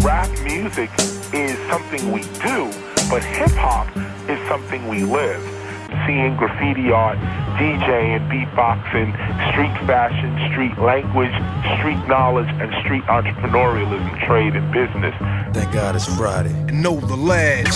rap music is something we do, but hip-hop is something we live. Seeing graffiti art, DJing, beatboxing, street fashion, street language, street knowledge, and street entrepreneurialism, trade and business. Thank God it's Friday. And know the lads.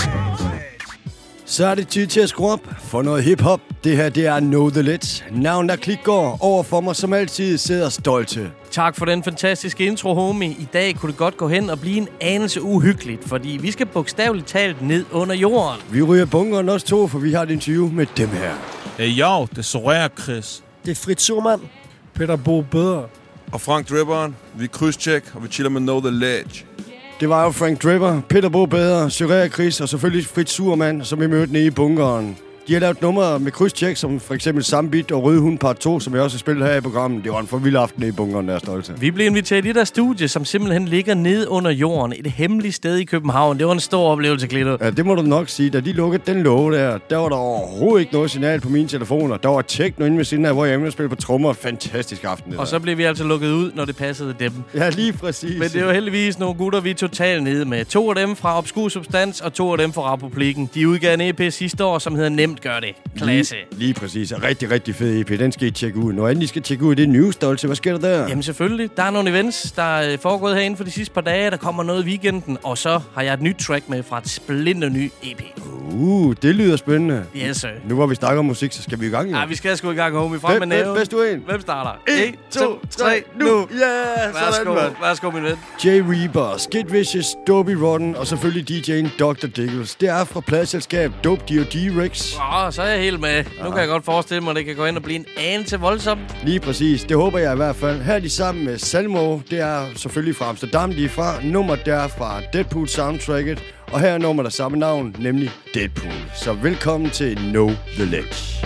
Så er det tid til at skrue op for noget hiphop. Det her, det er Know The Ledge. Navnet er Klitgaard. Over for mig som altid sidder Stolte. Tak for den fantastiske intro, homie. I dag kunne det godt gå hen og blive en anelse uhyggeligt, fordi vi skal bogstaveligt talt ned under jorden. Vi ryger bunkeren også to, for vi har et interview med dem her. Hey yo, det er Soraya Chris. Det er Fritz Surman. Peter Bo Bedre. Og Frank Dribberen. Vi er krydstjek, og vi chiller med Know The Ledge. Det var jo Frank Dripper, Peter Bo Bedre, Soraya Chris og selvfølgelig Fritz Surman, som vi mødte nede i bunkeren. De har lavet numre med krydstjek, som for eksempel Sambit og Røde Hund Part 2, som jeg også har spillet her i programmet. Det var en for vild aften i bunkeren, der er Stolte. Vi blev inviteret i det der studie, som simpelthen ligger nede under jorden. Et hemmeligt sted i København. Det var en stor oplevelse, Klito. Ja, det må du nok sige. Da de lukkede den låge der var der overhovedet ikke noget signal på mine telefoner. Der var techno inde ved siden af, hvor jeg spille på trommer. Fantastisk aften. Og så blev vi altså lukket ud, når det passede dem. Ja, lige præcis. Men det var heldigvis nogle gutter, vi er totalt nede med. 2 af dem fra Obskur Substans, og 2 af dem fra Republikken. De udgav en EP sidste år, som hedder Nemt Gør Det. Lige præcis. Rigtig, rigtig fed EP. Den skal I tjekke ud. Når I skal tjekke ud, det er News, Stolte. Hvad sker der der? Jamen selvfølgelig. Der er nogle events, der er foregået herinde for de sidste par dage. Der kommer noget i weekenden. Og så har jeg et nyt track med fra et splinter ny EP. Det lyder spændende. Yes, sir. Nu hvor vi snakker om musik, så skal vi i gang, jo. Ja, vi skal sgu i gang, homie. Frem med næven. Bedst du en. Hvem starter? 1, 2, 3, nu! Ja, Værsgo, min ven. Jay Reaper, Skid Vicious, Dopey Rotten og selvfølgelig DJ'en Dr. Diggles. Det er fra pladeselskab Dope D.O.D. Rex. Så er jeg helt med. Nu kan jeg godt forestille mig, at det kan gå ind og blive en anelse voldsomt. Lige præcis. Det håber jeg i hvert fald. Her er de sammen med Salmo. Det er selvfølgelig fra Amsterdam, de er fra. Nummer der fra Deadpool soundtracket. Og her er nummer der samme navn, nemlig Deadpool. Så velkommen til Know The Ledge.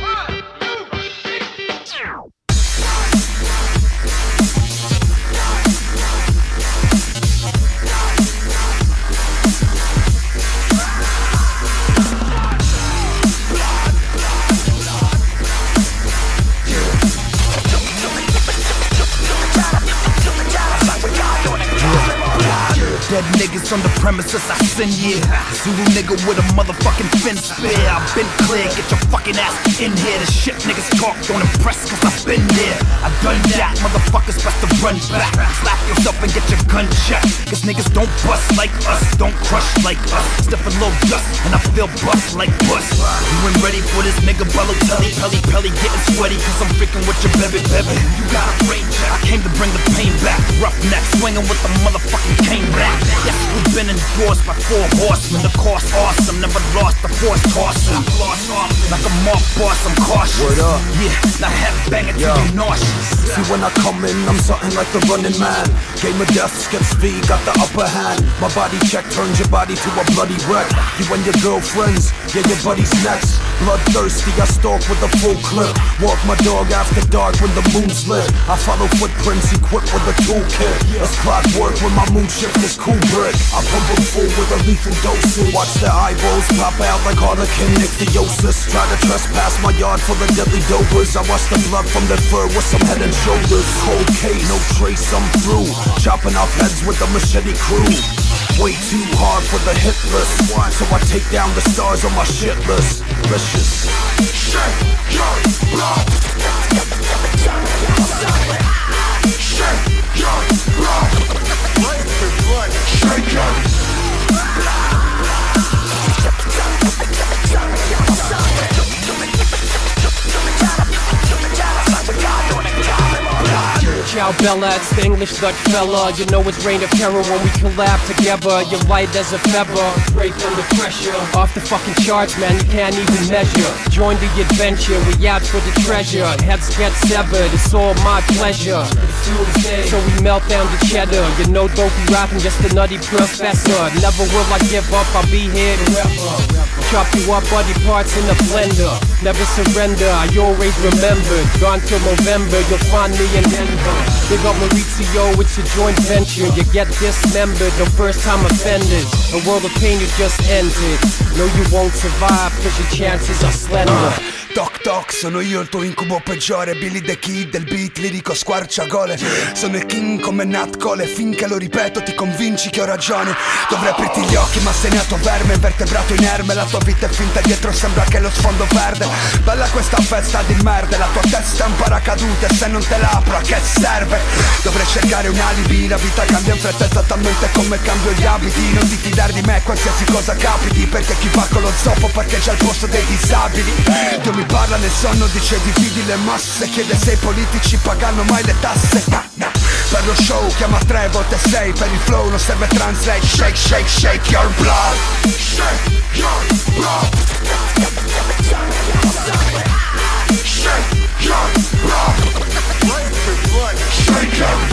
Dead niggas on the premises, I send yeah. Zulu nigga with a motherfucking fin spear. I've been clear, get your fucking ass in here. The shit niggas talk don't impress, cause I've been there. I've done that, motherfuckers best to run back. Slap yourself and get your gun checked. Cause niggas don't bust like us, don't crush like us. Step a little dust, and I feel bust like bust. You ain't ready for this nigga bellow telly, pelly, getting sweaty. Cause I'm freaking with your baby. You got a brain check, I came to bring the pain back. Rough neck, swinging with the motherfucking cane back. Yes, we've been endorsed by 4 horsemen. The course awesome, never lost the force tossing. Like a mob boss, I'm cautious. Word up. Yeah, now head banging till you're nauseous. See when I come in, I'm something like the running man. Game of death, skips V, got the upper hand. My body check turns your body to a bloody wreck. You and your girlfriends, yeah, your buddy's next. Bloodthirsty, I stalk with a full clip. Walk my dog after dark when the moon's lit. I follow footprints equipped with a toolkit. It's clockwork when my moon shift is cool brick. I pump them full with a lethal dosage. Watch their eyeballs pop out like harlequin ichthyosis. Try to trespass my yard full of deadly dopers. I watch the blood from their fur with some head and shoulders. Cold case, no trace, I'm through. Chopping off heads with the machete crew. Way too hard for the hit list, so I take down the stars on my shit list. Vicious. Shake your blood. Shake your blood. Shake your blood. Ciao Bella, it's the English Dutch fella. You know it's reign of terror when we collab together. You're light as a feather, break under pressure. Off the fucking charts, man, you can't even measure. Join the adventure, we out for the treasure. Heads get severed, it's all my pleasure. So we melt down the cheddar. You know dopey rapping, just a nutty professor. Never will I give up, I'll be here forever. Chop you up, body parts in a blender. Never surrender, I always remember. Gone till November, you'll find me in Denver. Big up Maurizio, it's a joint venture. You get dismembered, no first time offenders. A world of pain you just entered. No, you won't survive, cause your chances are slender. Toc toc, sono io il tuo incubo peggiore. Billy the Kid del beat lirico squarciagole. Sono il king come Nat Cole. Finché lo ripeto ti convinci che ho ragione. Dovrei aprirti gli occhi ma sei nato verme, invertebrato inerme. La tua vita è finta, dietro sembra che lo sfondo verde. Bella questa festa di merda, la tua testa è un paracadute. Se non te la apro a che serve? Dovrei cercare un alibi, la vita cambia in fretta esattamente come cambio gli abiti. Non ti fidare di me qualsiasi cosa capiti, perché chi va con lo zoppo parcheggia al posto dei disabili. Dio mi parla nel sonno, dice dividi le masse, chiede se i politici pagano mai le tasse. Per lo show chiama 3 volte 6, per il flow non serve translate. Shake, shake, shake your blood. Shake your blood. Shake your blood. Shake your blood.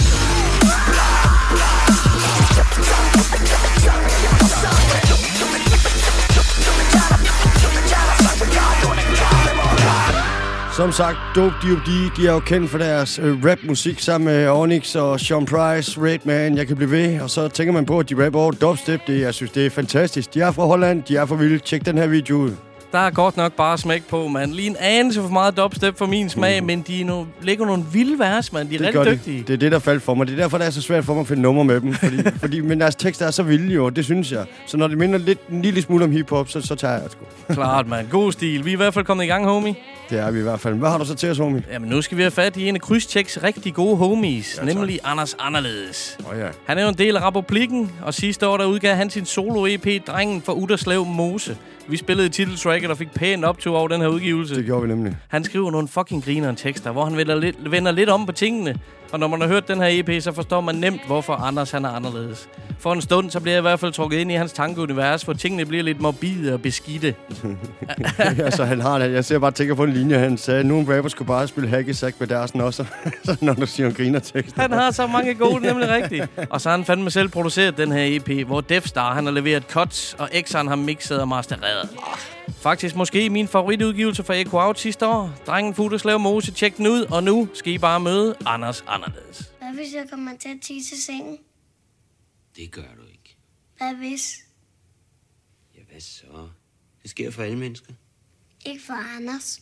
Som sagt, Dope D.O.D., de er jo kendt for deres rapmusik sammen med Onyx og Sean Price, Redman, jeg kan blive ved. Og så tænker man på, at de rapper over dubstep. Jeg synes, det er fantastisk. De er fra Holland, de er fra vilde. Tjek den her video ud. Der er godt nok bare smæk på, man. Lige en anelse for meget dubstep for min smag, men de lægger nogle vilde vers, man. De er rigtig dygtige. Det er det, der faldt for mig. Det er derfor, det er så svært for mig at finde nummer med dem. Men deres tekster er så vilde jo, det synes jeg. Så når det minder en lille smule om hiphop, så tager jeg det sgu. Klart, man. God stil. Vi er i hvert fald kommet i gang, homie. Det er vi i hvert fald. Hvad har du så til os, homie? Jamen, nu skal vi have fat i en af Krydstjeks rigtig gode homies, nemlig Anders Anderledes. Ja. Han er jo en del af Republikken, og sidste år der udgav han sin solo-EP, Drengen fra Uderslev Mose. Vi spillede titeltracket og fik pænt optur over den her udgivelse. Det gjorde vi nemlig. Han skriver nogle fucking grineren tekster, hvor han vender lidt om på tingene. Og når man har hørt den her EP, så forstår man nemt, hvorfor Anders han er anderledes. For en stund, så bliver jeg i hvert fald trukket ind i hans tankeunivers, hvor tingene bliver lidt morbide og beskidte. Ja, så han har det. Jeg ser bare tænker på en linje, han sagde, at nogle rapper skulle bare spille hacky-sack med deres også. Når du siger en griner-tekster. Han har så mange gode, nemlig rigtigt. Og så har han fandme selv produceret den her EP, hvor Defstar han har leveret cuts, og X'eren har mixet og mastereret. Faktisk måske min favoritudgivelse fra Echo Out sidste år. Drengen fra Uderslev Mose, tjek den ud, og nu skal I bare møde Anders Anderledes. Hvad hvis jeg kommer til at tisse sengen? Det gør du ikke. Hvad hvis? Ja, hvad så? Det sker for alle mennesker. Ikke for Anders.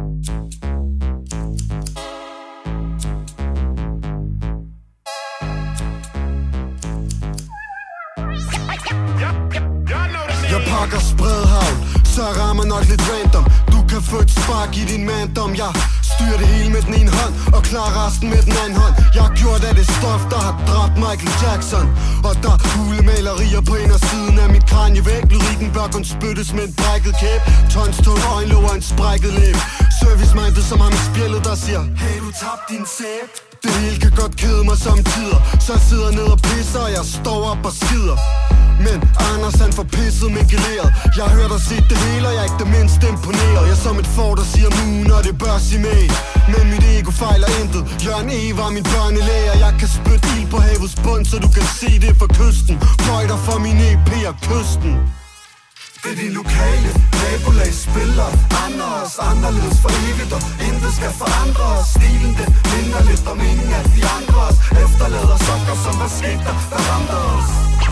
Jeg pakker spredhavl, så jeg rammer nok lidt random. Du kan få et spark i din mandom. Jeg styrer det hele med den ene hånd og klarer resten med den anden hånd. Jeg har gjort af det stof, der har dræbt Michael Jackson. Og der er hulemalerier på en af siden af mit kranievæg. Lyrikken bør kun spyttes med en brækket kæb. Tons tung øjenlåg og en sprækket læb. Service-minded som ham i spjældet, der siger: hey, du tabte din sæb. Det hele kan godt kede mig samtidig, så jeg sidder ned og pisser, og jeg står op og skider. Men Anders han får pisset med geleret. Jeg har hørt og set det hele, og jeg er ikke det mindste imponeret. Jeg er som et får, der siger moon, og det bør sige med. Men mit ego fejler intet. Jørgen E. var min børnelærer. Jeg kan spytte ild på havets bund, så du kan se det fra kysten. Bøj dig for min EP og kysten. Det er de lokale nabolag spiller Anders, anderledes for evigt, og intet skal forandre os. Stilen den minder lidt om ingen af de andres. Efterlader sokker, som var sket der ramte os.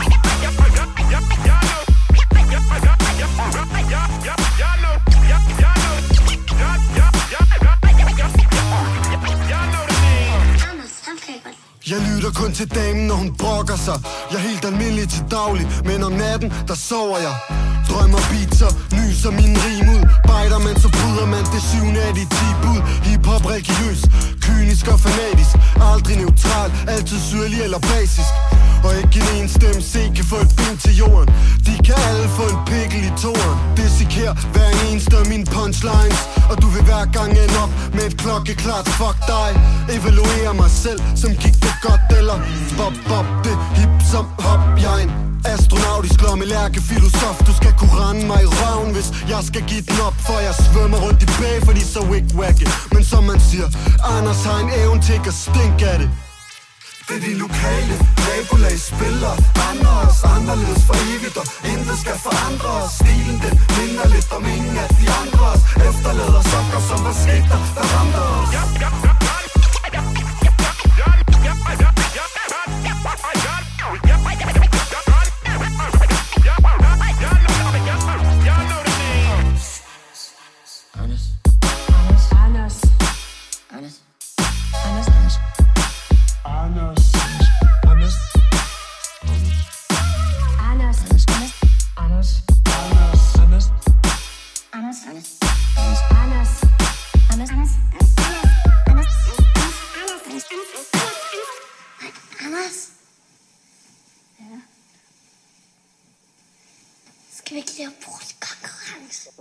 Jeg lytter kun til damen, når hun brokker sig. Jeg er helt almindelig til daglig, men om natten, der sover jeg. Drømmer beats og nyser min rim ud. Bejder man, så bryder man det 7. af de 10 bud. Hip-hop religiøs, kynisk og fanatisk. Aldrig neutral, altid syrlig eller basisk. Og ikke en stemme C kan få et ben til jorden. De kan alle få en pikkel i toren. Disseker hver eneste af mine punchlines. Og du vil hver gang ende op med et klokkeklart fuck dig. Evaluere mig selv, som gik det godt eller bop bop det hip som hop. Jeg er en astronautisk lommelærkefilosof. Du skal kunne rende mig i røven, hvis jeg skal give den op. For jeg svømmer rundt i bag, fordi så wig-wagge. Men som man siger, Anders har en evne til at stinke af det. Det er de lokale nabolag spiller Anders, anderledes for evigt, og intet skal forandre os. Stilen den minder lidt om ingen af de andres. Efterlader sokker, som var sket der ramte os.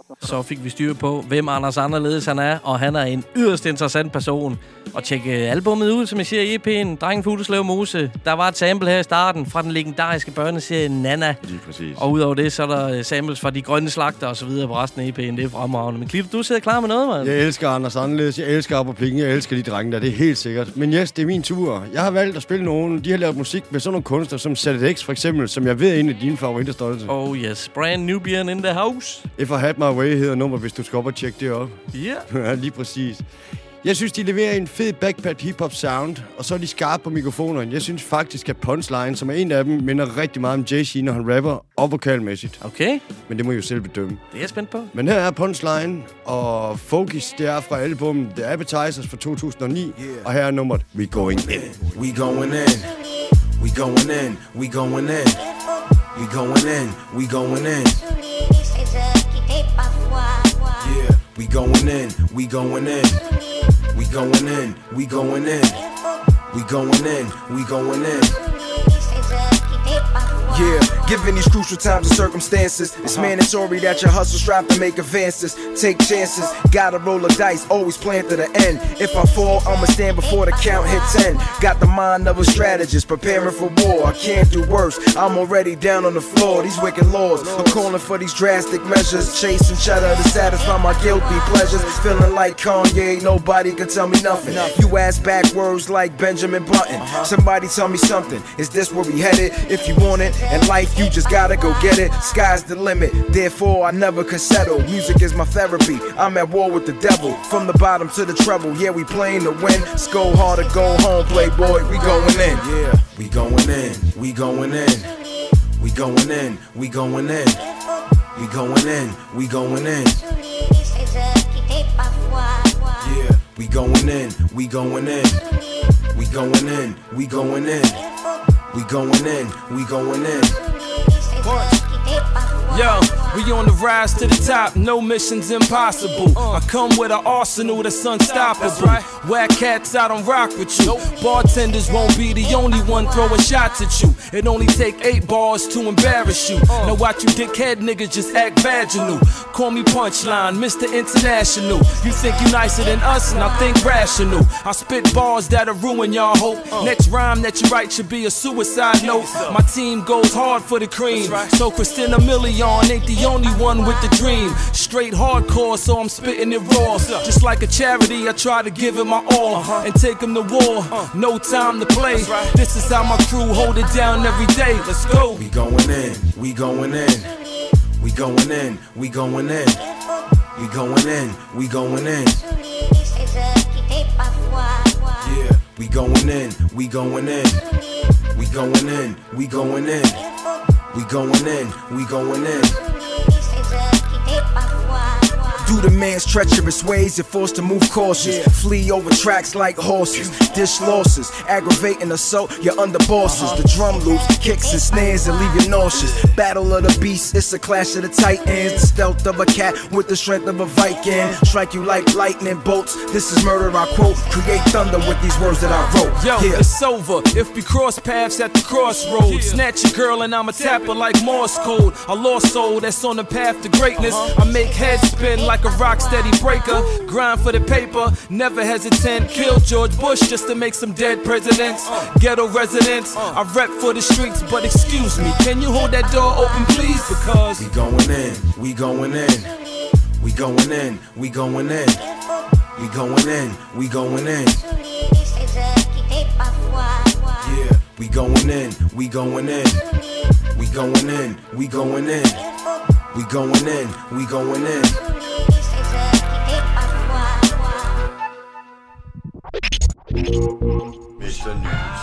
Så fik vi styr på, hvem Anders Anderledes han er, og han er en yderst interessant person. Og tjek albummet ud, som jeg siger i EP'en, Drengen fra Utterslev Mose. Der var et sample her i starten fra den legendariske børneserie Nana. Lige præcis. Og udover det, så er der samples fra De Grønne Slagter og så videre på resten af EP'en. Det er fremragende. Men Cliff, du sidder klar med noget, mand. Jeg elsker Anders Anderledes, jeg elsker Op og Plinge, jeg elsker de drenge der, det er helt sikkert. Men yes, det er min tur. Jeg har valgt at spille nogen, de har lavet musik med sådan nogle kunstnere som ZX for eksempel, som jeg ved er en af dine favoritter, Stolte. Oh yes, brand Nubian in the house. If I Had My Way hedder nummer, hvis du skal op og tjekke det op. Ja. Ja, lige præcis. Jeg synes, de leverer en fed backpack hip-hop sound, og så er de skarpe på mikrofonerne. Jeg synes faktisk, at Punchline, som er en af dem, minder rigtig meget om Jay-Z, når han rapper og vokalmæssigt. Okay. Men det må I jo selv bedømme. Det er jeg spændt på. Men her er Punchline, og Focus, det er fra albummet The Appetizers fra 2009, og her er nummeret We Going In. We going in. We going in. We going in. We going in. We going in. Yeah, we going in. We going in. We going in. We going in. We going in. We going in. Yeah, given these crucial times and circumstances, it's mandatory that your hustle strive to make advances. Take chances, gotta roll the dice, always plan to the end. If I fall, I'ma stand before the count hit 10. Got the mind of a strategist, preparing for war. I can't do worse, I'm already down on the floor. These wicked laws are calling for these drastic measures. Chasing cheddar to satisfy my guilty pleasures. Feeling like Kanye, nobody can tell me nothing. You ask backwards like Benjamin Button. Somebody tell me something, is this where we headed? If you want it, in life, you just gotta go get it. Sky's the limit, therefore I never can settle. Music is my therapy, I'm at war with the devil. From the bottom to the treble, yeah, we playing to win. Let's go hard or go home, playboy, we going in. Yeah, we going in, we going in. We going in, we going in. We going in, we going in. Yeah, we going in, we going in. We going in, we going in. We going in, we going in. Yo, we on the rise to the top, no mission's impossible. I come with an arsenal that's unstoppable. Whack cats, I don't rock with you. Bartenders won't be the only one throwing shots at you. It only take 8 bars to embarrass you. Now watch you dickhead niggas just act vaginal. Call me Punchline, Mr. International. You think you nicer than us, and I think rational. I spit bars that'll ruin y'all hope. Next rhyme that you write should be a suicide note. My team goes hard for the cream. So Christina Milian ain't the only one with the dream. Straight hardcore, so I'm spitting it raw. Just like a charity, I try to give it my all and take him to war. No time to play. This is how my crew hold it down every day. Let's go. We going in, we going in. We going in, we going in. We going in, we going in. Yeah, we going in, we going in. We going in, we going in. We going in, we going in. Do the man's treacherous ways, you're forced to move cautious. Flee over tracks like horses. Dish losses, aggravating assault, you're under bosses. The drum loops, kicks and snares and leave you nauseous. Battle of the beasts, it's a clash of the titans. The stealth of a cat with the strength of a Viking. Strike you like lightning bolts, this is murder I quote. Create thunder with these words that I wrote. Yo, it's over, if we cross paths at the crossroads. Snatch your girl and I'ma tap her like Morse code. A lost soul that's on the path to greatness. I make heads spin like a rock steady breaker. Grind for the paper, never hesitant. Kill George Bush just to make some dead presidents. Ghetto residents, I rep for the streets, but excuse me, can you hold that door open please? Because we going in, we going in. We going in, we going in. We going in, we going in. Yeah, we going in, we going in. We going in, we going in. We going in, we going in. Mr. News.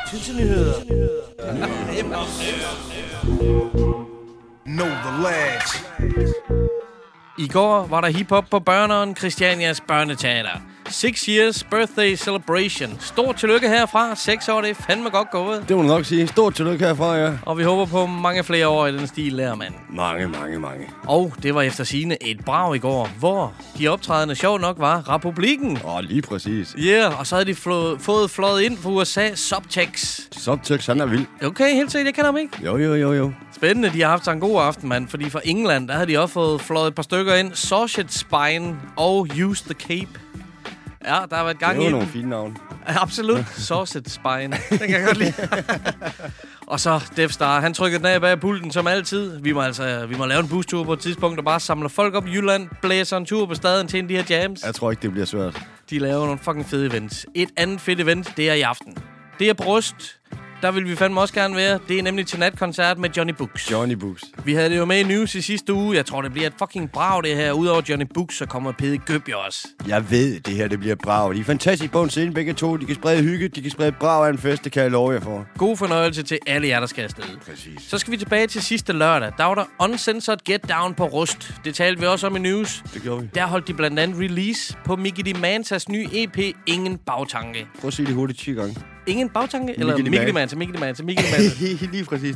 Know the lads. I går var der hiphop på Børneren, Christianias børneteater. 6 years birthday celebration. Stort tillykke herfra. 6 år, det er fandme godt gået. Det må du nok sige. Stort tillykke herfra, ja. Og vi håber på mange flere år i den stil der, mand. Mange. Og det var efter sigende et brag i går, hvor de optrædende sjovt nok var Republikken. Lige præcis. Ja, yeah, og så havde de fået fløjet ind fra USA Subtex. Subtex, han er vild. Okay, helt sikkert. Jeg kender ham ikke. Jo. Spændende, de har haft sig en god aften, mand. Fordi fra England, der havde de også fået fløjet et par stykker ind. Sausage Spine og Use the Cape. Ja, der har været gang i. Det var nogle fine navne. Absolut. Sausage Spine. Den kan jeg godt lide. Og så Death Star. Han trykkede den af bag pulten som altid. Vi må lave en bustur på et tidspunkt, og bare samle folk op i Jylland. Blæser en tur på staden til en af de her jams. Jeg tror ikke, det bliver svært. De laver nogle fucking fede events. Et andet fedt event, det er i aften. Det er Bryst. Der vil vi fandme også gerne være. Det er nemlig til natkoncert med Johnny Books. Johnny Books. Vi havde det jo med i news i sidste uge. Jeg tror, det bliver et fucking brag, det her. Udover Johnny Books, så kommer Pede Gøbje også. Jeg ved, det her det bliver brag. De er fantastisk på en scene, begge to. De kan sprede hygge, de kan sprede brag af en fest. Det kan jeg love jer for. God fornøjelse til alle jer, der skal afsted. Præcis. Så skal vi tilbage til sidste lørdag. Der var der Uncensored Get Down på Rust. Det talte vi også om i news. Det gjorde vi. Der holdt de blandt andet release på Mickey Dimantas nye EP, Ingen Bagtanke. Prøv at sige det hurtigt 10 gange. Ingen bagtanke? Eller Mickey Dimantas? Lige præcis.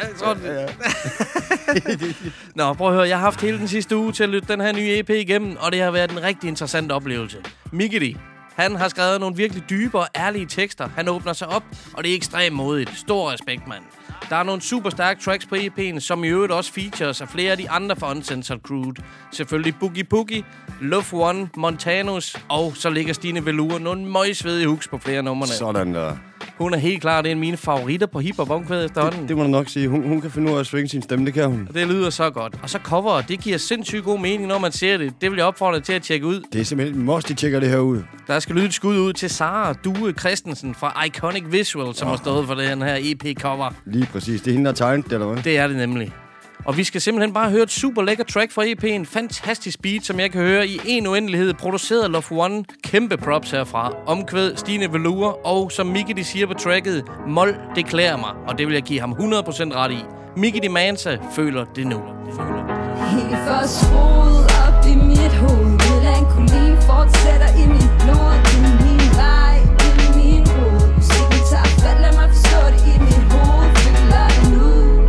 Nå, prøv at høre. Jeg har haft hele den sidste uge til at lytte den her nye EP igennem, og det har været en rigtig interessant oplevelse. Mickey, han har skrevet nogle virkelig dybe og ærlige tekster. Han åbner sig op, og det er ekstremt modigt. Stor respekt, mand. Der er nogle super stærke tracks på EP'en, som i øvrigt også features af flere af de andre fra Uncensored Crewed. Selvfølgelig Boogie Boogie, Love One, Montanus, og så ligger Stine Velour nogle møgsvedige hooks på flere numrene. Sådan der. Hun er helt klar, det er en af mine favoritter på hiphop-omkvædet efterhånden. Det må du nok sige. Hun kan finde ud af at svinge sin stemme, det kan hun. Det lyder så godt. Og så coveret, det giver sindssygt god mening, når man ser det. Det vil jeg opfordre dig til at tjekke ud. Det er simpelthen, de tjekker det her ud. Der skal lyde et skud ud til Sara Due Christensen fra Iconic Visual, som har stået for den her EP-cover. Lige præcis. Det er hende, der tegnet det, eller hvad? Det er det nemlig. Og vi skal simpelthen bare høre et super lækker track fra EP'en. Fantastisk beat, som jeg kan høre i en uendelighed. Produceret af Love One. Kæmpe props herfra. Omkvæd Stine Velour. Og som Mickey de siger på tracket, Mol, det klæder mig. Og det vil jeg give ham 100% ret i. Mickey Dimantas føler det nu. Helt forskruet op i mit hoved. Melankolien fortsætter i mit blod. Det er min vej, det er min rod. Musikken tager fat, lad mig forstå det i mit hoved. Føler det nu,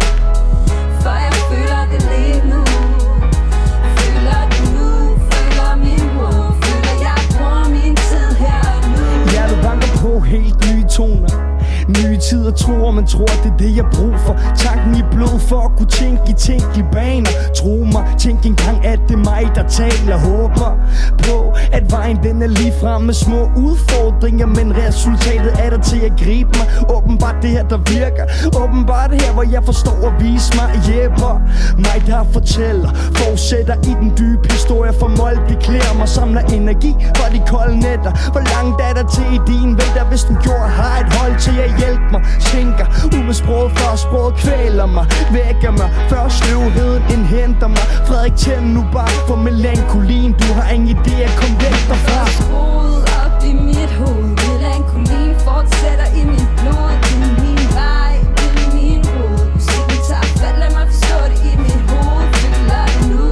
for jeg føler det lige nu. Føler det nu, føler min råd. Føler jeg bruger min tid her og nu. Hjertet banker på helt nye toner. Nye tider tror, man tror, det er det jeg brug for. Tanken i blod for at kunne tænke i tænkelige baner. Tro mig, tænk engang at det er mig der taler. Håber på at vejen den er lige frem med små udfordringer, men resultatet er der til at gribe mig. Åbenbart det her der virker. Åbenbart det her hvor jeg forstår at vise mig. Hjælper mig der fortæller. Fortsætter i den dybe historie for mål. Det klæder mig, samler energi for de kolde nætter. Hvor langt er der til i din vælter? Hvis den gjorde har et hold til at hjælpe mig. Tænker ud med sproget før sproget kvæler mig. Vækker mig før sløvheden indhenter mig. Frederik tænd nu bare for melankolien. Du har ingen idé at komme væk derfra. Skruet op i mit hoved. Melankolien fortsætter i mit blod. Det er min vej, det er min rod. Musikken tager fat, lad mig forstå det i mit hoved. Føler det nu,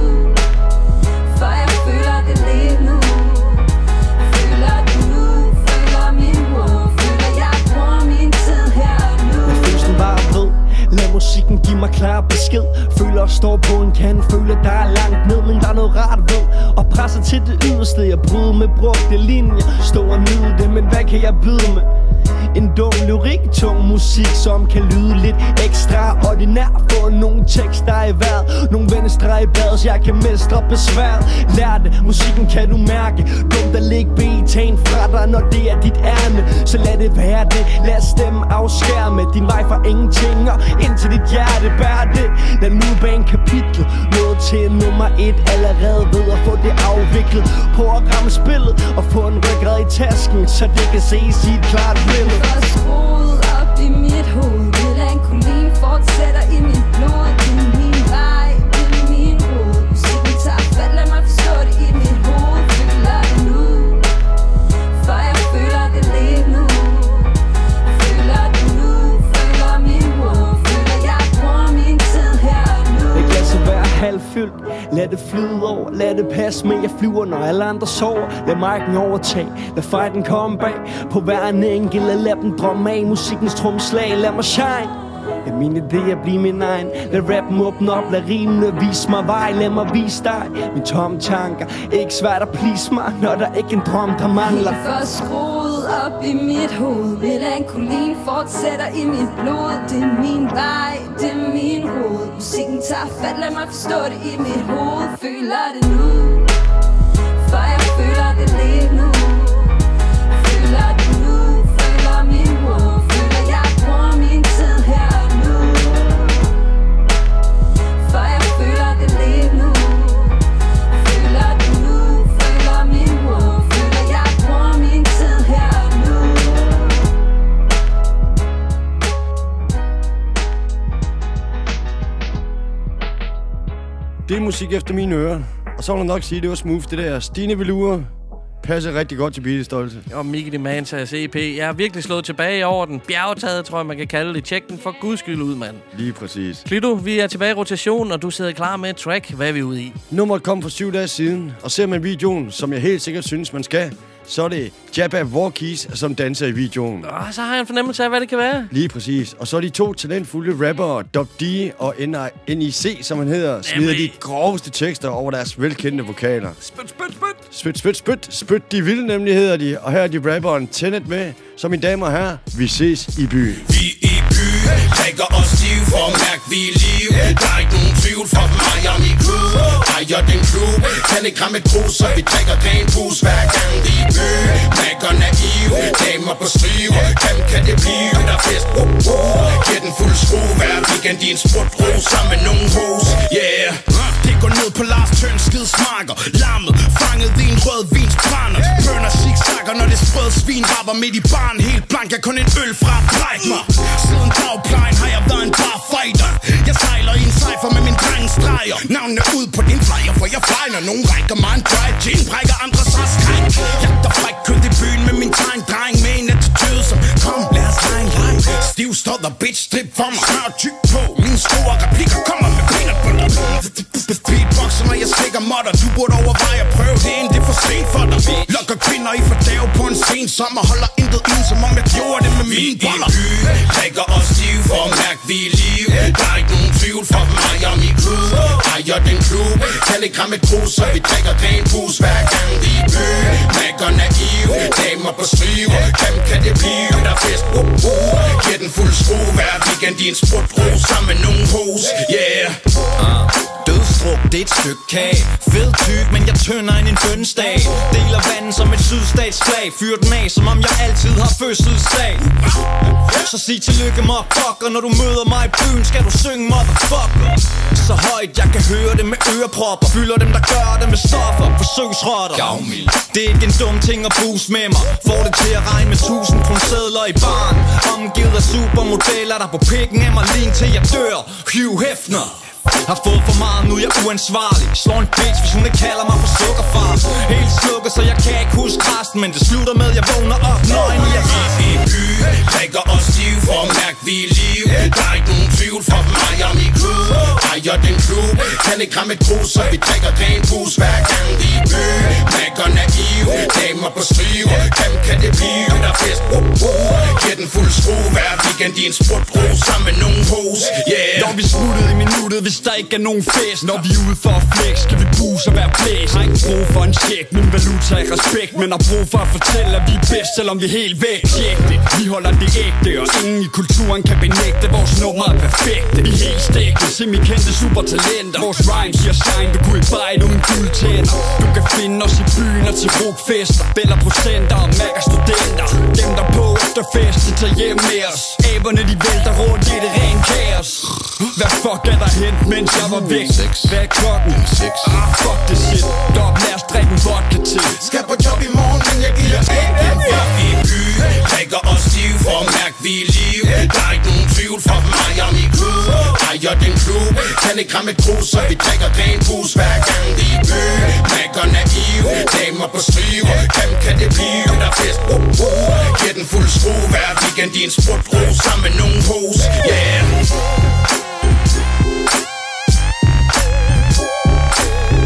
for jeg føler det lige nu. Føler det nu, føler min råd. Føler jeg bruger min tid her og nu. Lad følelsen bare ved. Lad musikken give mig klar besked. Føler at stå på en kant. Føler der er langt ned, men der er noget rart ved. Og presser til det yderste. Jeg bryder med brugte linjer. Stå og nyde det, men hvad kan jeg byde med? En dum lyrik, tung musik, som kan lyde lidt ekstraordinær. Få nogle tekster i vejret, nogle vendestreger i badet, så jeg kan mestre besværet. Lær det, musikken kan du mærke. Dumt at lægge betaen fra dig, når det er dit ærne. Så lad det være det, lad stemme afskærme din vej fra ingenting og ind til dit hjerte. Bær det, lad nu bane kapitlet. Noget til nummer 1, allerede ved at få det afviklet. På at ramme spillet og få en ryggrad i tasken, så det kan ses i et klart billede. Skruet op i mit hoved. Melankolien fortsætter i mit blod. Det er min vej, det er min rod. Musikken tager fat, lad mig forstå det i mit hoved. Føler det nu, for jeg føler det lige nu. Føler det nu, føler min råd. Føler jeg bruger min tid her og nu. Det kan så være halvfyldt. Lad det flyde over, lad det passe med. Jeg flyver, når alle andre sover. Lad marken overtage, lad fighten komme bag. På hver en enkelt, lad dem drømme af. Musikkens tromslag, lad mig shine. Lad mine idéer blive min egen. Lad rappen åbne op, lad rimene vise mig vej. Lad mig vise dig mine tomme tanker. Ikke svært at please mig, når der ikke en drøm, der mangler. Helt for skruet op i mit hoved. Melankolien fortsætter i mit blod. Det er min vej, det er min rod. Musikken tager fat, lad mig forstå det i mit hoved. Føler det nu, for jeg føler det lige nu. Føler det nu, føler min ro. Føler jeg bruger min tid her nu. For jeg føler det lige nu. Føler det nu, føler min ro. Føler jeg bruger min tid her nu. Det er musik efter mine ører. Og så vil jeg nok sige, at det var smooth, det der. Stine Velour passer rigtig godt til Beatles stolte. Og Mickey Demantas EP. Jeg har virkelig slået tilbage over den. Bjergtaget, tror jeg, man kan kalde det. Tjek den for guds skyld ud, mand. Lige præcis. Klito, vi er tilbage i rotation, og du sidder klar med et track. Hvad er vi ude i? Nummeret kom for 7 dage siden, og ser man videoen, som jeg helt sikkert synes, man skal, så er det Jabba Walkies, som danser i videoen. Så har jeg en fornemmelse af, hvad det kan være. Lige præcis. Og så er de to talentfulde rappere, Dub D og NIC, som han hedder, smider de groveste tekster over deres velkendte vokaler. Spyt, de vilde nemlig hedder de. Og her er de rapperen Tenet med, så mine damer og herrer, vi ses i byen. Vi i byen, drikker os stiv for at mærke vi er liv. Der er ikke nogen tvivl for mig og min crew. Ejer den klub, kan ikke ramme et brus, så vi drikker ren bus hver gang vi i byen. Mækker naiv, damer på striv. Kan det blive, der er fest, giver den fuld skrue. Hver weekend i en sprutro, sammen med nogen hos, yeah. Det går ned på Lars Tøns skidsmarker. Lammet, fanget i en rød vins brænder. Bønner zigzagger, når det sprød svin rapper midt i baren. Helt blank, jeg kun en øl fra bræk mig. Siden dagplejen har jeg været en bar fighter. Jeg sejler i en cypher med min drengens streger. Navnene ud på din flyer, for jeg fejler. Nogen rækker mig en dry gin, brækker andre så skræk. Jagter fræk kød i byen med min tegn dreng. Med en attitude som, kom lad os lege en leg. Stiv stod og bitch strip for mig. Smør tyk på, mine store replikker kommer med peanut butter. Beatboxer, når jeg slikker modder. Du burde overveje at prøve det, inden det er for sent for dig. Lokker kvinder i fordave på en sen sommer. Holder intet ind, som om jeg gjorde det med mine boller. Drikker os stiv for at mærke vi er liv. Der er ikke nogen tvivl for mig og min crew. Ejer den klub, kan ikke ramme et brus, så vi drikker ren bus hver gang vi er i byen. Mækker naiv, damer på striv. Kan det blive, der er fest, giver den fuld skrue. Hver weekend i en sprutro, sammen med nogen hos, yeah. Dødstruk, det er et stykke kage. Fed tyk, men jeg tønder end en bønnesdag. Deler vandet som et sydstatsflag. Fyr den af, som om jeg altid har fødselsdag. Så sig tillykke, motherfucker. Når du møder mig i byen, skal du synge motherfucker. Så højt, jeg kan høre det med ørepropper. Fylder dem, der gør det med stoffer. Forsøgsrotter. Det er ikke en dum ting at boost med mig. Får det til at regne med 1000 kronesedler i baren. Omgivet af supermodeller, der på pikken af mig lige til jeg dør. Hugh Hefner. Har fået for meget, nu er jeg uansvarlig. Slår en bitch, hvis hun ikke kalder mig for sukkerfar. Helt slukket, så jeg kan ikke huske resten. Men det slutter med, jeg vågner op nøgen i i byen, drikker os stiv for at mærke vi er liv. Der er ikke nogen tvivl for mig og min crew. Ejer den klub, kan ikke ramme et brus, så vi drikker ren bus hver gang vi er i byen. Mækker naiv, damer på striv. Kan det blive, der er fest, giver den fuld skrue. Hver weekend i en sprutro, sammen med nogen hos, yeah. Når vi smuttede i minuttet, hvis der ikke er nogen fest. Når vi er ude for at flex, skal vi buse og være blæst. Har ikke brug for en check, min valuta er respekt. Men har brug for at fortælle, at vi er bedst, selvom vi er helt væk. Tjek det, vi holder det ægte, og ingen i kulturen kan benægte. Vores nummer er perfekte, vi er helt stegte. Semi-kendte supertalenter. Vores rhymes giver shine, du kunne ikke bite uden guldtænder. Du kan finde os i byen og til rockfester. Bæller procenter og mærker studenter. Dem der på efter fest, de tager hjem med os. Æberne de vælter rundt i det ren kaos. Hvad fuck er der hent, mens jeg var væk? Hvad er klokken? Fuck det shit. Dog, lad os drikke en vodka til. Skal på job i morgen, men jeg giver ikke. Vi er i byen, drikker os stiv for at mærke vi er liv. Der er ikke nogen tvivl for mig og min crew. Ejer den klub, kan ikke ramme et brus, så vi drikker ren bus hver gang vi er i byen. Mækker naiv, damer på striv. Kan det blive, der er fest, giver den fuld skrue. Hver weekend i en sprutro, sammen med nogen hos, yeah.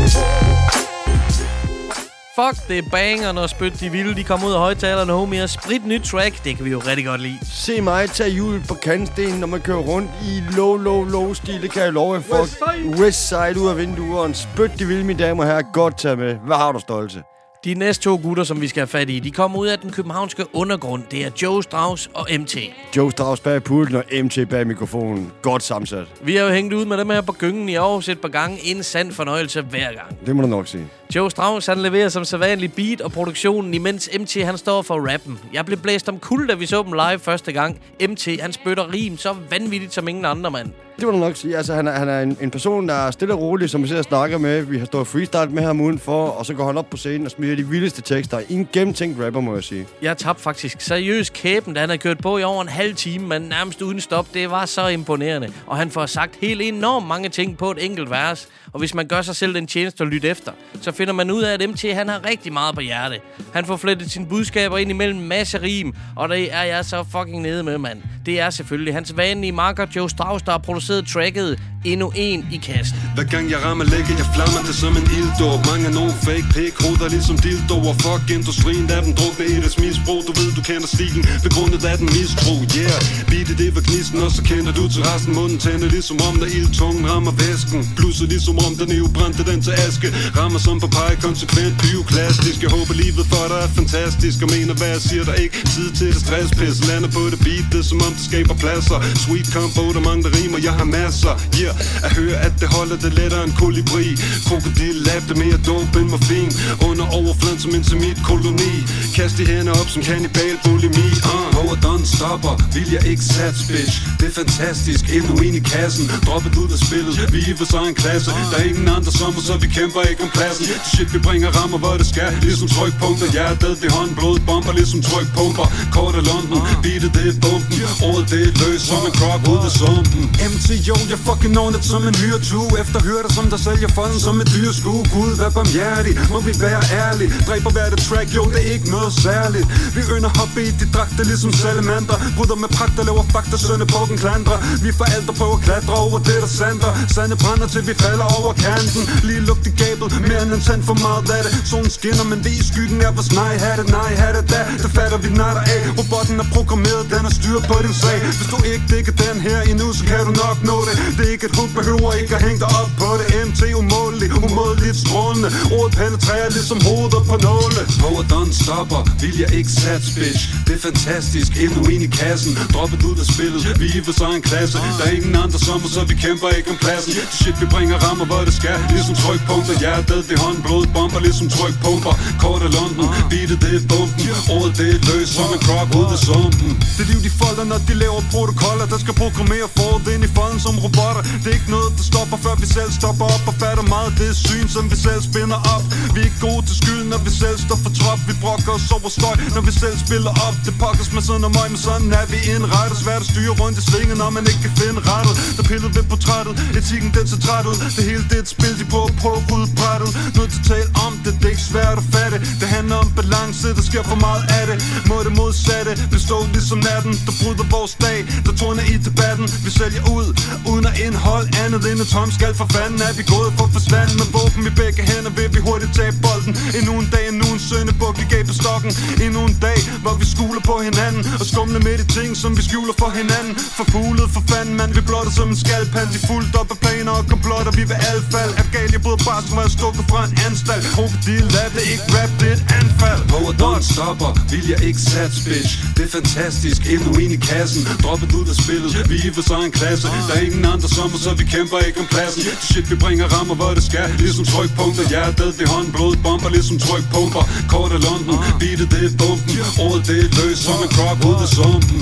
Fuck, det er banger, når Spyt de vilde. De kommer ud af højtalerne, homie, og sprit nyt track. Det kan vi jo rigtig godt lide. Se mig tage hjul på kantstenen, når man kører rundt i low stil. Det kan jeg love for. Westside ud af vinduerne. Spyt de vilde, mine damer og herrer. Godt tage med. Hvad har du, Stolte? De næste 2 gutter, som vi skal have fat i, de kommer ud af den københavnske undergrund. Det er Joe Strauss og MT. Joe Strauss bag pulten og MT bag mikrofonen. Godt sammensat. Vi har jo hængt ud med dem her på gyngen i Aarhus et par gange. En sand fornøjelse hver gang. Det må du nok sige. Joe Strauss, han leverer som sædvanlig beat og produktionen, imens MT, han står for rappen. Jeg blev blæst om kul, da vi så dem live første gang. MT, han spytter rim så vanvittigt som ingen andre, mand. Det må du nok sige. Altså, han er en person, der er stille og rolig, som vi ser og snakker med. Vi har stået freestyle med ham udenfor, og så går han op på scenen og smider de vildeste tekster. En gennemtænkt rapper, må jeg sige. Jeg tabte faktisk seriøst kæben, da han havde kørt på i over en halv time, men nærmest uden stop. Det var så imponerende. Og han får sagt helt enormt mange ting på et enkelt vers. Og hvis man gør sig selv den tjeneste at lytte efter, så finder man ud af, at MT, han har rigtig meget på hjerte. Han får flettet sine budskaber ind imellem masse rim, og det er jeg så fucking nede med, mand. Det er selvfølgelig hans vanlige marker Joe Strauss, der har produceret tracket Endnu en i kassen. Hver gang jeg rammer lægge, jeg flammer det som en ilddåb. Mange af nogle fake pæk-hoveder ligesom dildoer. Fuck industrien, der dem drukne i deres misbrug. Du ved, du kender stilen, begrundet af den mistro. Yeah, beatet det var gnisten, og så kender du til resten. Munden tænder ligesom om, der ildtungen rammer væsken. Blusset ligesom om, den jo brændte den til aske. Rammer som på pege, konsekvent bioklastisk. Jeg håber livet for dig er fantastisk, og mener hvad jeg siger, der ikke tid til det stresspis. Lander på det beat, det som om det skaber pladser. Sweet combo, der mange der rimer, jeg har masser. Yeah, at høre, at det holder det lettere end kolibri. Krokodil, lab det mere dope end morfin. Under overfladen som en koloni. Kast de hænder op som kannibal bulimi. Over done stopper, vil jeg ikke sats, bitch. Det er fantastisk, endnu en i kassen. Droppet ud af spillet, vi er for sig en klasse. Der er ingen andre som os, så vi kæmper ikke om pladsen. Shit, vi bringer rammer, hvor det skal. Ligesom trykpunkter, hjertet det håndblod. Bomber ligesom trykpumper. Kort af London, beatet det er bomben. Ordet det er løs som en krop ud af sumpen. MT, yo, jeg fucking ordnet som en hyretue. Efter hørte som der sælger folden som et dyreskue. Gud, vær barmhjertig, må vi være ærlige. Dræber hver det track, jo, det er ikke noget særligt. Vi ynder hoppe i de dragter ligesom salamander. Bryder med pragt og laver fakta, sønne på den klandre. Vi forældre på at klatre over det der sander. Sande brænder til vi falder over kanten. Lige lugt i gabet, mere end en tand for meget af det. Solen skinner, men vi i skyggen er vores nej, hatte, nej, hatte da. Det fatter vi natter af. Robotten er programmeret, den har styr på din sag. Hvis du ikke digger den her endnu, så kan du nok nå det. Det er ikke et hug, behøver ikke at hænge dig op på det. MT umådeligt, umådeligt strålende. Ordet penetrerer ligesom hovedet på nåle. Power done stopper, vil jeg ikke sats, bitch. Det er fantastisk, endnu en i kassen. Droppet ud af spillet, vi er for sig en klasse. Der er ingen andre som os, så vi kæmper ikke om pladsen. Shit, vi bringer rammer, hvor det skal. Ligesom trykpunkter, hjertet det håndblod. Bomber ligesom trykpumper. Kort af London, beatet det er bomben. Ordet det er løs som en krop ud af sumpen. Det liv de folder, når de laver protokoller. Der skal programmere forud ind i folden som robotter. Det er ikke noget, der stopper, før vi selv stopper op og fatter meget det syn, som vi selv spinder op. Vi er ikke gode til skyld, når vi selv står for trop. Vi brokker os over støj, når vi selv spiller op. Det pokkes med sådan og møg, men sådan er vi indrettet. Svært at styre rundt i svingen, når man ikke kan finde rettet. Der piller ved portrættet, etikken den ser træt ud. Det hele det er et spil, de på at rydde brættet. Noget til tale om det, det er ikke svært at fatte. Det handler om balance, der sker for meget af det. Må det modsatte bestå ligesom natten, der bryder vores dag, der tårner i debatten. Vi sælger ud, uden at indhold andet end et tom skal. For fanden er vi gået for forsvand. Med våben i begge hænder vil vi hurtigt tage bolden. Endnu en dag, endnu en søndebuk, vi gav på stokken. Endnu en dag, hvor vi skuler på hinanden og skumler med de ting, som vi skjuler for hinanden. Forfuglet for fanden, man, vi blotter som en skalpand. De fuldt op af planer og komplotter, vi vil alle fald. Er gal, jeg bryder bare som er stukket fra en anstalt. Krokodil, lad det ikke rap, det er et anfald. Power done stopper, vil jeg ikke sats, bitch. Det er fantastisk, endnu en i kassen. Droppet ud af spillet, vi er for sig en klasse. Der er ingen andre som os, så vi kæmper ikke om pladsen. Shit, vi bringer rammer, hvor det skal. Ligesom trykpunkter, hjertet det håndblod. Bomber ligesom trykpumper. Kort af London, beatet det er bomben. Ordet det er løs som en krop ud af sumpen.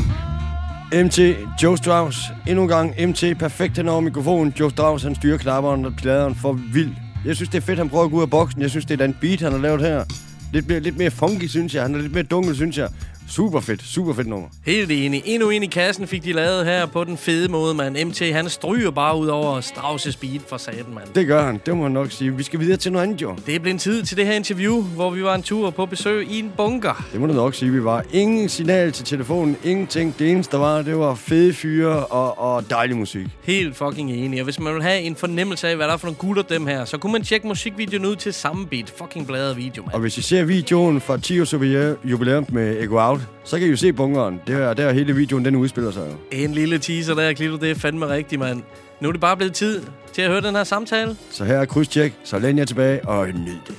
MT, Joe Strauss, endnu en gang MT, perfekt hen over mikrofonen. Joe Strauss, han styrer knapperen og pladeren for vildt. Jeg synes, det er fedt, han prøver at gå ud af boksen. Jeg synes, det er den beat, han har lavet her. Lidt mere funky, synes jeg. Han er lidt mere dunkel, synes jeg. Super fedt nummer. Helt enig. Endnu en i kassen fik de lavet her på den fede måde, mand. MT, han stryger bare ud over Strauss' beat for satan, mand. Det gør han, det må man nok sige. Vi skal videre til noget andet, jo. Det er blevet tid til det her interview, hvor vi var en tur på besøg i en bunker. Det må du nok sige, vi var. Ingen signal til telefonen, ingenting. Det eneste, der var, det var fede fyre og dejlig musik. Helt fucking enig. Og hvis man vil have en fornemmelse af, hvad der er for nogle gutter dem her, så kunne man tjekke musikvideoen ud til samme beat. Fucking bladet video, mand. Og hvis I ser videoen fra 10 års jubilæum med Echo Out, så kan I jo se bunkeren. Der hele videoen, den udspiller sig jo. En lille teaser der, Klito. Det er fandme rigtigt, mand. Nu er det bare blevet tid til at høre den her samtale. Så her er krydstjek, så læn jer tilbage og nyd det.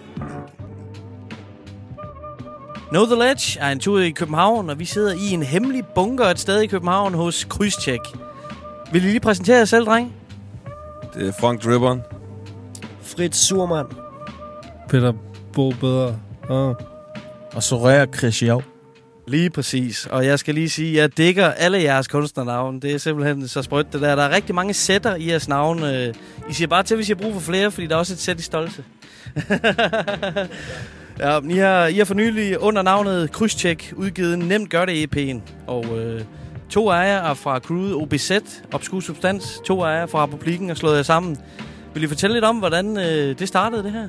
Know The Ledge er en tur i København, og vi sidder i en hemmelig bunker et sted i København hos Krydstjek. Vil I lige præsentere jer selv, dreng? Det er Frank Dribberen. Fritz Surman. Peter Bo Bedre. Og Soraya Christian. Lige præcis. Og jeg skal lige sige, at jeg digger alle jeres kunstnernavne. Det er simpelthen så sprødt det der. Der er rigtig mange sætter i jeres navne. I siger bare til, hvis I har brug for flere, fordi der er også et sæt i Stolte. Ja, I har for nylig under navnet Krydstjek udgivet Nemt Gør Det EP'en. Og 2 af jer er fra crewet OBZ, Obskur Substans. 2 af jer fra Republikken og slået jer sammen. Vil I fortælle lidt om, hvordan det startede, det her?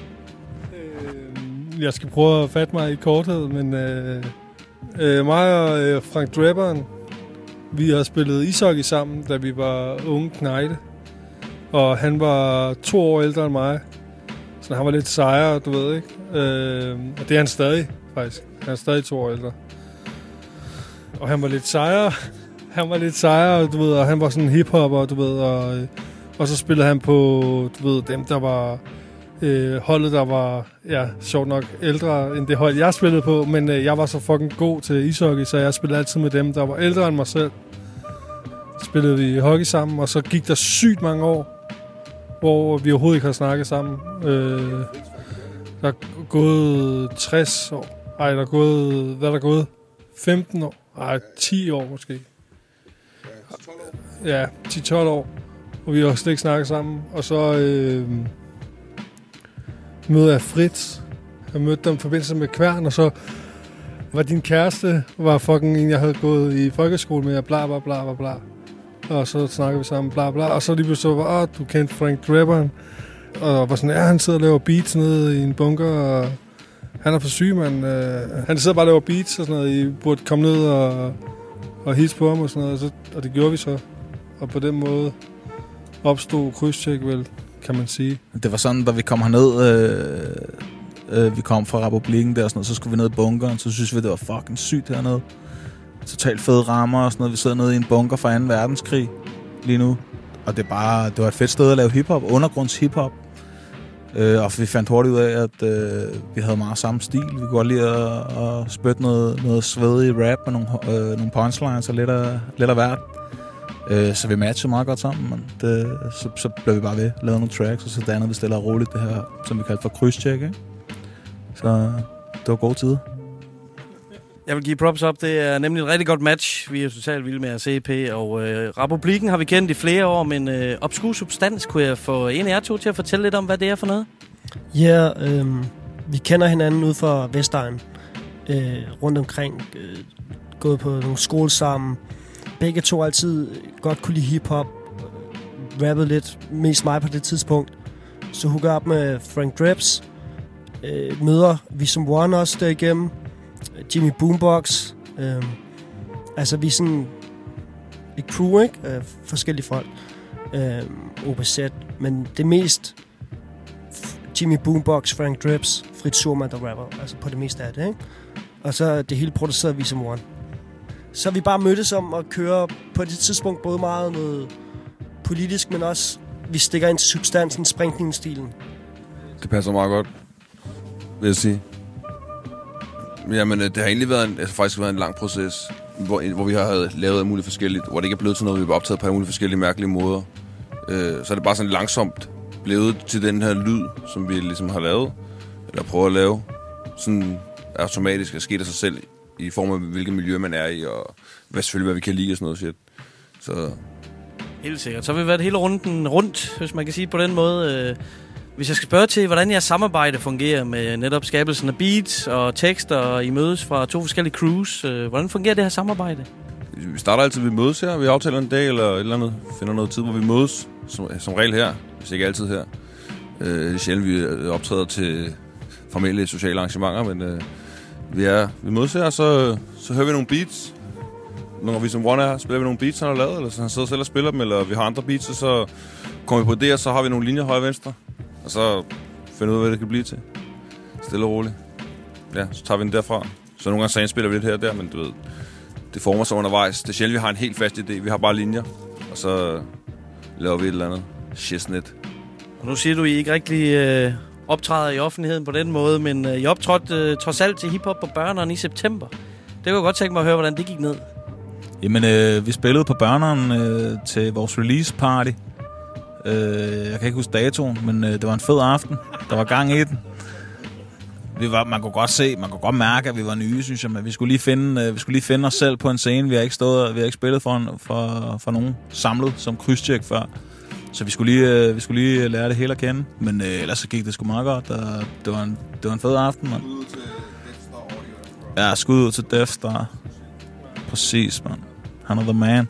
Jeg skal prøve at fatte mig i korthed, men mig og Frank Dribberen, vi har spillet ishockey sammen, da vi var unge knejte. Og han var 2 år ældre end mig, så han var lidt sejere, du ved, ikke? Og det er han stadig, faktisk. Han er stadig 2 år ældre. Og han var lidt sejere, du ved, og han var sådan en hiphopper, du ved, og så spillede han på, du ved, dem, der var holdet, der var, ja, sjovt nok ældre end det hold, jeg spillede på, men jeg var så fucking god til ishockey, så jeg spillede altid med dem, der var ældre end mig selv. Så spillede vi hockey sammen, og så gik der sygt mange år, hvor vi overhovedet ikke har snakket sammen. Der er gået 60 år. Ej, der er gået, hvad er der gået? 15 år? Ej, 10 år måske. Ja, 10-12 år. Og vi har slet ikke snakket sammen. Og så møder jeg Fritz. Jeg mødte dem i forbindelse med Kværn, og så var din kæreste, var fucking en, jeg havde gået i folkeskole med, bla bla bla bla bla. Og så snakkede vi sammen, bla bla. Og så lige pludselig var, du kendte Frank Dribberen. Og var sådan, ja, han sidder og laver beats nede i en bunker, og han er for syg, mand. Han sidder bare og laver beats og sådan noget. I burde komme ned og hilse på ham og sådan noget. Og det gjorde vi så. Og på den måde opstod Krydstjek vel, kan man sige. Det var sådan, da vi kom herned, vi kom fra Republikken der og sådan noget, så skulle vi ned i bunkeren, så synes vi, det var fucking sygt hernede. Totalt fede rammer og sådan noget. Vi sidder nede i en bunker fra 2. verdenskrig lige nu. Og det var et fedt sted at lave hiphop, undergrunds hiphop. Og vi fandt hurtigt ud af, at vi havde meget samme stil. Vi kunne godt lide at spytte noget svedig rap med nogle punchlines og lidt af hvert. Så vi matchede meget godt sammen. Men så blev vi bare ved, lavede nogle tracks, og så dannede vi stille og roligt det her, som vi kaldte for Krydstjek, ikke? Så det var gode tider. Jeg vil give props op. Det er nemlig et rigtig godt match. Vi er totalt vilde med at CP, og Republikken har vi kendt i flere år, men Obskur Substans, kunne jeg få en af jer to til at fortælle lidt om, hvad det er for noget? Ja, vi kender hinanden ud fra Vestegn, rundt omkring, gået på nogle skoler sammen. Begge to altid godt kunne lide hiphop, rappede lidt, mest mig på det tidspunkt. Så hooker op med Frank Dribbs, møder vi som One også derigennem, Jimmy Boombox. Altså vi er sådan et crew, ikke? Forskellige folk. OBZ. Men det mest Jimmy Boombox, Frank Dribbs, Fritz Surman, der rapper. Altså på det meste af det, ikke? Og så det hele produceret vi som One. Så vi bare mødtes om at køre på det tidspunkt både meget noget politisk, men også vi stikker ind til substansen, sprængningsstilen. Det passer meget godt, vil jeg sige. Jamen, det har egentlig faktisk været en lang proces, hvor vi har lavet alt muligt forskelligt, hvor det ikke er blevet til noget, vi har optaget på alle mulige forskellige mærkelige måder. Så er det bare sådan langsomt blevet til den her lyd, som vi ligesom har lavet, eller prøver at lave, sådan automatisk at ske af sig selv, i form af hvilket miljø man er i, og selvfølgelig hvad vi kan lide og sådan noget shit. Så helt sikkert. Så har vi været hele runden rundt, hvis man kan sige på den måde. Hvis jeg skal spørge til, hvordan jeres samarbejde fungerer med netop skabelsen af beats og tekster, og I mødes fra 2 forskellige crews, hvordan fungerer det her samarbejde? Vi starter altid, vi mødes her. Vi aftaler en dag eller et eller andet. Finder noget tid, hvor vi mødes. Som regel her, hvis ikke altid her. Det er sjældent, vi optræder til formelle sociale arrangementer, men vi mødes her, og så hører vi nogle beats. Når vi som one er, spiller vi nogle beats, han har lavet, eller så han sidder selv og spiller dem, eller vi har andre beats, og så kommer vi på det, og så har vi nogle linjer højre og venstre. Og så finder vi ud af, hvad det kan blive til. Stille og roligt. Ja, så tager vi den derfra. Så nogle gange spiller vi lidt her og der, men du ved, det former sig undervejs. Det er sjældent, vi har en helt fast idé. Vi har bare linjer, og så laver vi et eller andet shiznit. Og nu siger du, I ikke rigtig optræder i offentligheden på den måde, men I optrådte trods alt til hiphop på Børneren i september. Det kunne jeg godt tænke mig at høre, hvordan det gik ned. Jamen, vi spillede på Børneren til vores release party. Jeg kan ikke huske datoen, men det var en fed aften. Der var gang i den. Man kunne godt mærke, at vi var nye, synes jeg, men vi skulle lige finde os selv på en scene. Vi har ikke spillet for nogen samlet som krydstjek før. Så vi skulle lige lære det hele at kende, men ellers så gik det sgu meget godt. Det var en fed aften, mand. Ja, skud ud til Death Star. Præcis, mand. Han er the man.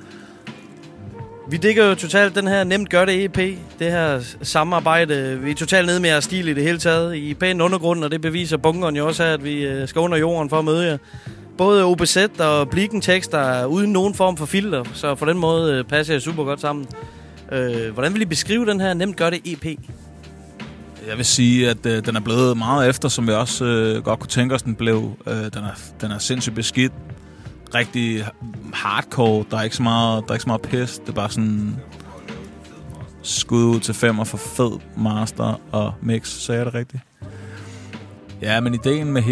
Vi digger jo totalt den her Nemt Gør Det EP, det her samarbejde. Vi er totalt nede med jeres stil i det hele taget. I pæn undergrund, og det beviser bunkeren jo også af, at vi skal under jorden for at møde jer. Både OBZ og Blikken-tekster er uden nogen form for filter, så på den måde passer jeg super godt sammen. Hvordan vil I beskrive den her Nemt Gør Det EP? Jeg vil sige, at den er blevet meget efter, som vi også godt kunne tænke os, den blev. Den er sindssygt beskidt. Rigtig hardcore. Der er ikke så meget pis. Det er bare sådan skud ud til 5 for fed master og mix. Sagde jeg det rigtigt? Ja, men ideen med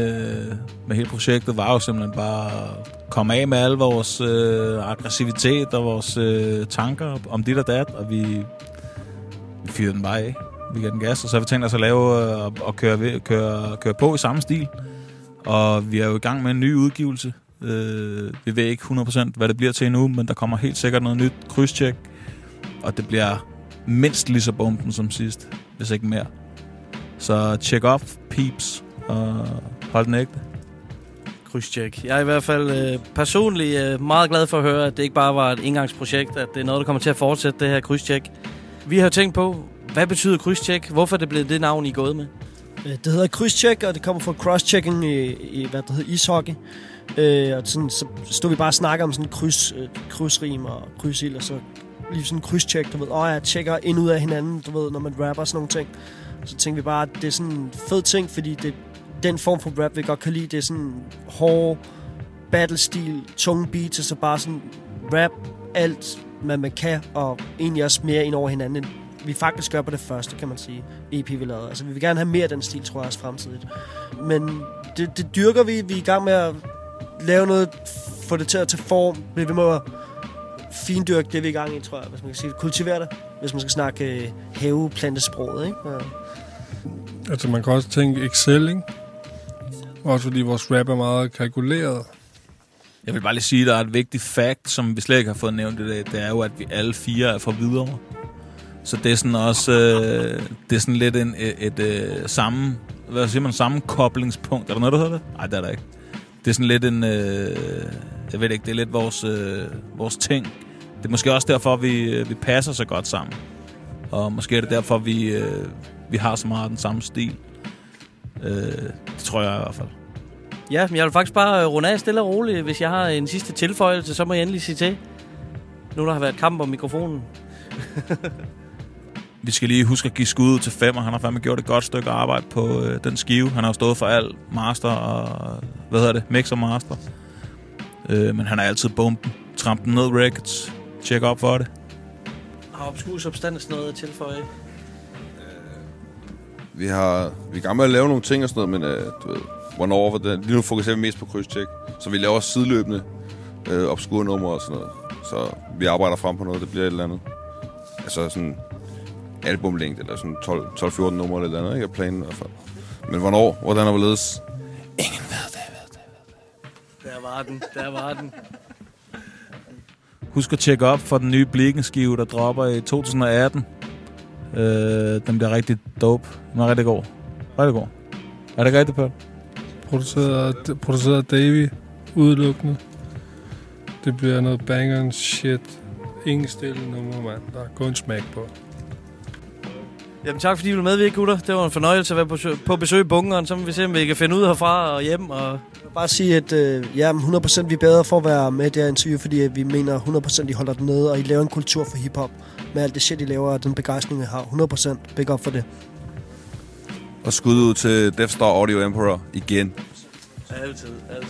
hele projektet var jo simpelthen bare at komme af med al vores aggressivitet og vores tanker om dit og dat, og vi fyrede den bare af. Vi gav den gas, og så har vi tænkt os at lave og køre på i samme stil. Og vi er jo i gang med en ny udgivelse. Vi ved ikke 100% hvad det bliver til endnu, men der kommer helt sikkert noget nyt krydstjek, og det bliver mindst lige så bomben som sidst, hvis ikke mere. Så check up, peeps, og hold den ægte. Krydstjek. Jeg er i hvert fald personligt meget glad for at høre, at det ikke bare var et engangsprojekt, at det er noget, der kommer til at fortsætte, det her krydstjek. Vi har tænkt på, hvad betyder krydstjek? Hvorfor er det blevet det navn, I er gået med? Det hedder krydstjek, og det kommer fra crosschecking i hvad der hedder ishockey. Og sådan, så stod vi bare og snakker om sådan krydsrim og krydsild, og så lige sådan en krydstjek, du ved. Jeg tjekker ind ud af hinanden, du ved, når man rapper sådan nogle ting. Så tænkte vi bare, at det er sådan en fed ting, fordi det den form for rap, vi godt kan lide. Det er sådan hård battle-stil, tunge beats, og så bare sådan rap alt, hvad man kan, og egentlig også mere ind over hinanden, end vi faktisk gør på det første, kan man sige, EP vi lavede. Altså, vi vil gerne have mere af den stil, tror jeg, også fremtidigt. Men det dyrker vi. Vi er i gang med at lave noget, få det til at tage form. Vi må findyrke det, vi er i gang i, tror jeg, hvis man kan sige det. Kultivere det, hvis man skal snakke haveplantesproget, ikke? Ja. Altså, man kan også tænke Excel, ikke? Også fordi vores rap er meget kalkuleret. Jeg vil bare lige sige, at der er et vigtigt fact, som vi slet ikke har fået nævnt i dag. Det er jo, at vi alle 4 er fra Hvidovre. Så det er sådan også det er sådan lidt et samme, hvad siger man, sammenkoblingspunkt. Er der noget, der hedder det? Nej, det er der ikke. Det er sådan lidt en, jeg ved ikke, det er lidt vores ting. Det er måske også derfor, vi passer så godt sammen. Og måske er det derfor, vi har så meget den samme stil. Det tror jeg i hvert fald. Ja, men jeg vil faktisk bare runde af stille og roligt. Hvis jeg har en sidste tilføjelse, så må jeg endelig sige til. Nu der har været kamp om mikrofonen. Vi skal lige huske at give skud til 5, og han har fandme gjort et godt stykke arbejde på den skive. Han har jo stået for alt master og, mix og master. Men han er altid bomben. Tramp den ned records. Check op for det. Har Obscure Substance noget at tilføje? Vi er i gang med at lave nogle ting og sådan noget, men du ved, hvornår, lige nu fokuserer vi mest på krydstjek. Så vi laver sideløbende obskure numre og sådan noget. Så vi arbejder frem på noget, det bliver et eller andet. Altså sådan albumlængde, eller sådan 12-14 numre eller andet, ikke? Er planen i hvert fald. Men hvornår, hvordan er hvorledes? Ingen ved det. Der var den. Husk at tjekke op for den nye Blikken-skive, der dropper i 2018. Den bliver rigtig dope. Den er rigtig god. Rigtig god. Er det ikke rigtigt, Pøl? Produceret af Davey udelukkende. Det bliver noget bangeren shit. Ingen stille nummer, mand. Der er kun smag på. Jamen tak fordi I ville medvirke, gutter. Det var en fornøjelse at være på besøg i bunkeren. Så må vi se, om vi kan finde ud herfra og hjem. Og... Jeg vil bare sige, at 100% vi er bedre for at være med i det her interview, fordi vi mener 100% I holder den nede, og I laver en kultur for hiphop. Med alt det shit, I laver, og den begejstring, I har. 100% big up for det. Og skud ud til Death Star Audio Emperor igen. Altid.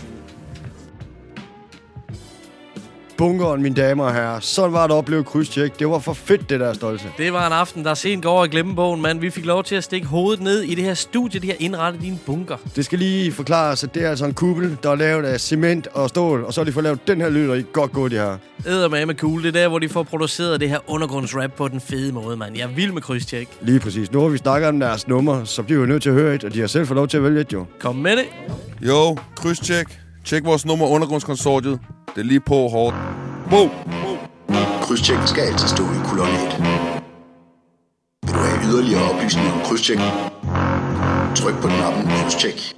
Bunkeren, mine damer og herrer. Sådan var det at opleve krydstjek. Det var for fedt, det der, Stolte. Det var en aften, der sent går over i glemmebogen, mand. Vi fik lov til at stikke hovedet ned i det her studie, de har indrettet i en bunker. Det skal lige forklares, at det er altså en kuppel, der er lavet af cement og stål, og så har de fået lavet den her lyd, og I godt gå, de her. Eddermame cool. Det er der, hvor de får produceret det her undergrundsrap på den fede måde, mand. Jeg er vild med krydstjek. Lige præcis. Nu har vi snakket om deres nummer, så bliver vi nødt til at høre et, og de har selv fået lov til at vælge et, jo. Kom med det. Jo, krydstjek. Tjek vores nummer Undergrundskonsortiet. Det er lige på hårdt. Wow. Krydstjek skal altid stå i kolonne 1. Vil du have yderligere oplysninger om krydstjek? Tryk på knappen krydstjek.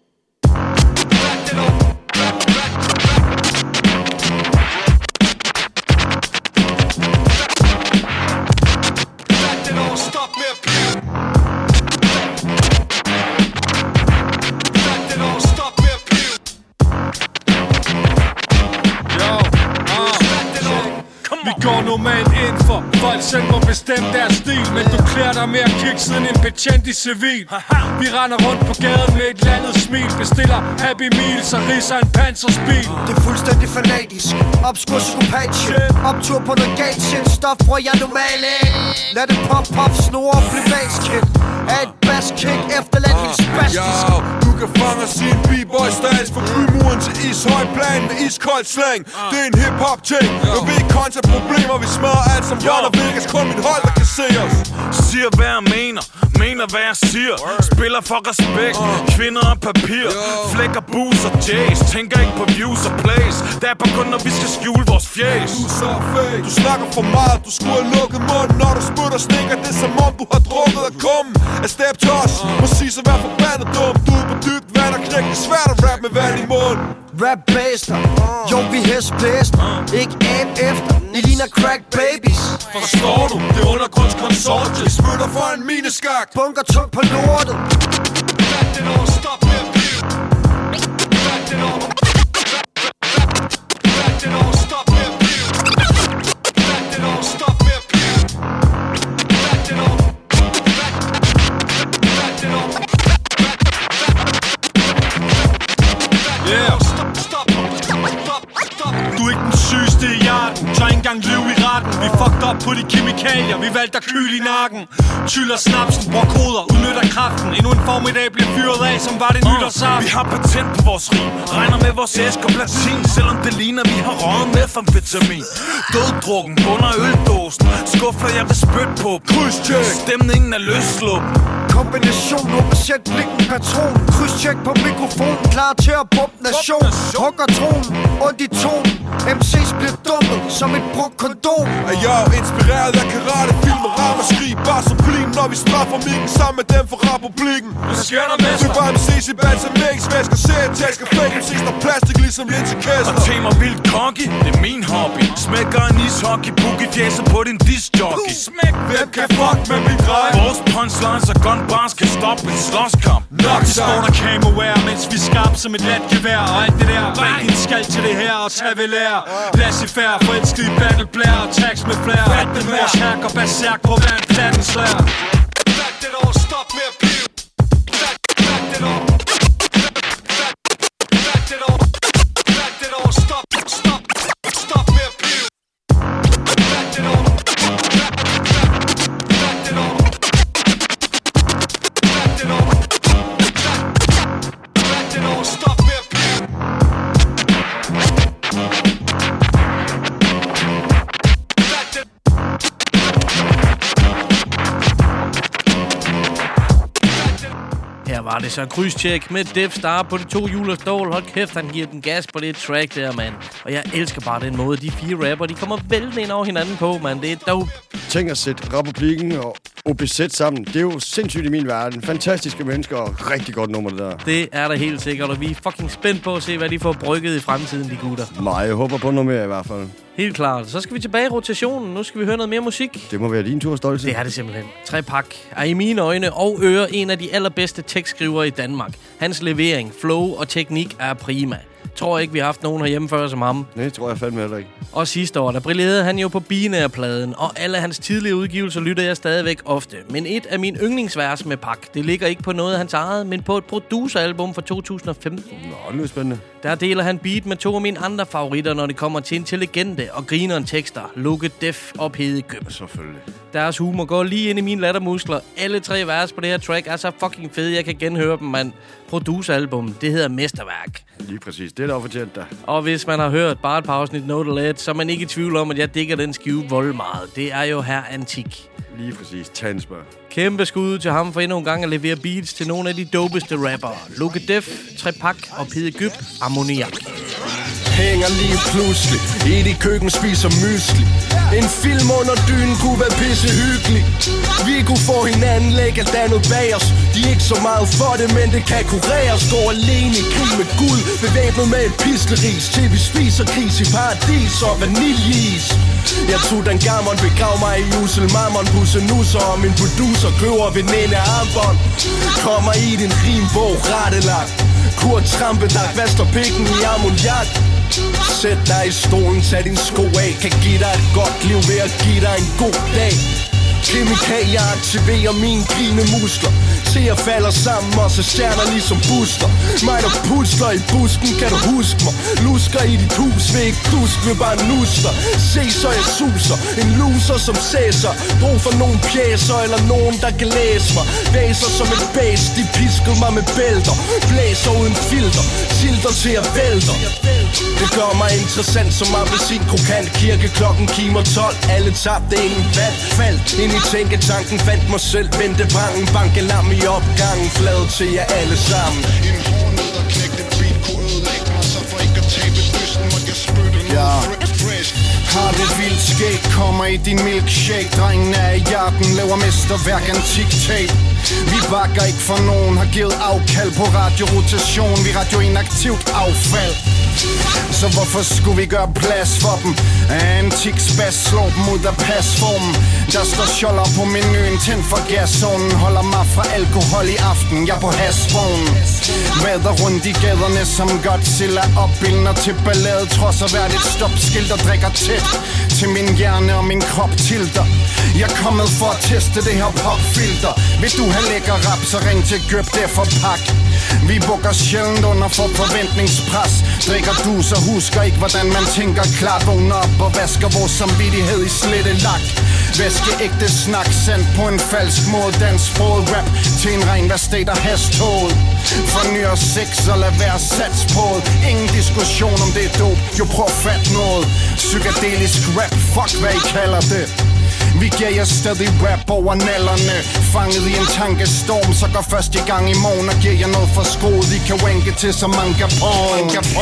Vi går normalt ind for folk selv må bestemme deres stil, men du klæder dig mere kick siden en betjent i civil. Vi render rundt på gaden med et landet smil, bestiller Happy Meals og ridser en pansersbil. Det er fuldstændig fanatisk, obskur psykopat shit, optur på noget galt shit, stof hvor jeg normalt ikke. Lad det pop, snore og blive bass-kid. Er et bass-kick efterladt helt spastisk. Du kan fange os i en b-boy stats fra Bymuren til Ishøjplan med iskold slang. Det er en hip-hop-ting, og vi ikke kontra problemer. Vi smadrer alt som Ron og Vegas, kun mit hold der kan se os. Siger hvad jeg mener hvad jeg siger. Spiller for respekt, kvinder og papir. Flækker booze og jazz, tænker ikke på views og plays. Det er bare kun når vi skal skjule vores fjæs. Du er så fake, du snakker for meget. Du skulle have lukket munden, når du smutter stikker. Det er som om du har drukket af kummen. Af step to os, må sige så vær forbandet dum. Du er på dybt vand og knæk, det er svært at rap med vand i munden. Rap baster, jo vi hestblæst, ikke ab efter, I ligner crack babies. Forstår du, det er undergrundskonsortiet. Vi spytter for en mineskak. Bunker tung på lortet. Stop med at blive. Stop med at blive. Stop med at blive. Yeah. Du er ikke den sygeste i hjerten. Tør ikke engang lyve i retten. Vi fucked up på de kemikalier. Vi valgte at kyle i nakken. Tyller snapsen, bruger koder, udnytter kraften. Endnu en formiddag bliver fyret af, som var det nytårsaften. Vi har patent på vores rim. Regner med vores æsk og platin. Selvom det ligner, vi har røget med amfetamin. Døddrukken bunder øldåsen. Skuffer jeg vil spytte på. Krydstjek. Stemningen er løsluppen. Kombination, åbensæt blikken patron. Krydstjek på mikrofonen, klar til at bumpe nation. Hugger tronen, ondt i tonen. MC's bliver dumpet som et brugt kondom. Er jeg inspireret af karate, film og ramaskrig. Bare så plim, når vi straffer mikken sammen med dem for republikken. Hvad sker der med sig? Du bare MC's i band som mixvæsker. Serietasker, fake MC's, der plastik ligesom linsekæster. Og tema vildt cocky, det er min hobby. Smækker en ishockey, book i fjeset på din discjockey. Smæk, hvem kan fuck med min grej? Vores punchlines og gunbars kan stoppe en slåskamp. Nok så der camowear, mens vi skarp som et lat gevær. Og alt det der, bag din skal til det her og tag vel lære. Laissez-faire, forelsket i battle blare og tags med flere. Fat den vores hack og berserk på hver en platten slær. Fat det over, stop med at blive. Fat det over. Fat det over. Fat det over, stop med at blive. Fat det over. Fat det over. Fat det over. Fat det over, stop med at blive. Her var det så krydstjek med Death Star på de 2 hjul og stål. Hold kæft, han giver den gas på det track der, mand. Og jeg elsker bare den måde, de 4 rapper, de kommer vældig ind over hinanden på, mand. Det er dope. Tænk at sætte Republikken og OPZ sammen. Det er jo sindssygt i min verden. Fantastiske mennesker og rigtig godt nummer, det der. Det er der helt sikkert, og vi er fucking spændt på at se, hvad de får brygget i fremtiden, de gutter. Nej, jeg håber på noget mere i hvert fald. Helt klart. Så skal vi tilbage i rotationen. Nu skal vi høre noget mere musik. Det må være din tur, Stolte. Det er det simpelthen. Trepak er i mine øjne og ører en af de allerbedste tekstskrivere i Danmark. Hans levering, flow og teknik er prima. Tror ikke, vi har haft nogen herhjemme før som ham. Nej, tror jeg fandme heller ikke. Og sidste år, der brillerede han jo på Binær-pladen, og alle hans tidlige udgivelser lytter jeg stadigvæk ofte. Men et af mine yndlingsvers med Pak, det ligger ikke på noget af hans eget, men på et produceralbum fra 2015. Nå, det er spændende. Der deler han beat med to af mine andre favoritter, når det kommer til intelligente og grineren tekster. Lukke Def og Pede Køb. Selvfølgelig. Deres humor går lige ind i mine lattermuskler. Alle tre vers på det her track er så fucking fede, jeg kan genhøre dem, mand. Produceralbum, det hedder Mesterværk. Lige præcis, det er da fortjent der. Og hvis man har hørt bare et par afsnit Note Let, så er man ikke i tvivl om, at jeg digger den skive vold meget. Det er jo her Antik. Lige præcis, Tansberg. Kæmpe skud til ham for endnu en gang at levere beats til nogle af de dopeste rappere. Lukke Def, Trepak og Pede Gyb, Ammoniak. Hænger lige pludselig i dit køkken, spiser mysli. En film under dynen kunne være pisse hyggelig. Vi kunne få hinanden, lægge alt andet bag os. De er ikke så meget for det, men det kan kureres. Går alene i krig med guld, bevæbnet med et piskeris. Til vi spiser gris i paradis og vaniljeis. Jeg tog den gammel, begrav mig i usel mammon. Pusse nusser, og min producer køber veninde armbånd. Kommer i din rimbog, rettelagt. Kurt Trampedag, vaster pikken i ammoniak. Sæt dig i stolen, tag din sko af. Kan give dig et godt liv ved at give dig en god dag. Kemikalier aktiverer mine grinemuskler. Se jeg falder sammen, og så stjerner ligesom booster. Mig der pusler i busken, kan du huske mig? Lusker i dit hus, vil ikke dusk, vil bare nuster. Se så jeg suser, en loser som sæser. Brug for nogle pjæser, eller nogen der kan læse mig. Væser som et bæs, de piskede mig med bælter. Blæser uden filter, silter til at vælter. Det gør mig interessant som appelsin krokant. Kirkeklokken kimer 12, alle tabte, ingen vand. Faldt ind i tænketanken, fandt mig selv, vendte brangen. Bankelam i opgangen, flad til jer alle sammen. En hård ned og knæk den beat kunne ødelægge mig. Så for ikke at tabe dysten, måtte jeg spytte noget fresh. Har det vildt skæg, kommer i din milkshake. Drengen er i jagten, laver mesterværk antik-tape. Vi bakker ikke for nogen, har givet afkald på radiorotation. Vi radioinaktivt affald. Så hvorfor skulle vi gøre plads for dem? Antik spas, slår dem ud af pasformen. Der står skjolder på menuen, tænd for gaszonen. Holder mig fra alkohol i aften, jeg på hasvognen. Vader rundt i gaderne som Godzilla. Opbildner til ballade, trods at hvert et stopskilt og drikker tæt til min hjerne og min krop tilter. Jeg er kommet for at teste det her popfilter. Vil du have lækker rap, så ring til Gøb, det for pak. Vi bukker sjældent under for forventningspres. Drikker du, så husker ikke, hvordan man tænker klart. Vågner op og vasker vores samvittighed i slette lak. Væske ægte snak, sendt på en falsk måde. Dansksproget rap til en ren værstat og hasthold. Fornyer sex og lad være sats på det. Ingen diskussion om det er dope, jo prøv fat noget. Psykedelisk rap, fuck hvad I kalder det. Vi giver jer stadig rap over nallerne. Fanget i en tankestorm, så går først i gang i morgen. Og giver jer noget for skroet, I kan wanke til som manga porn.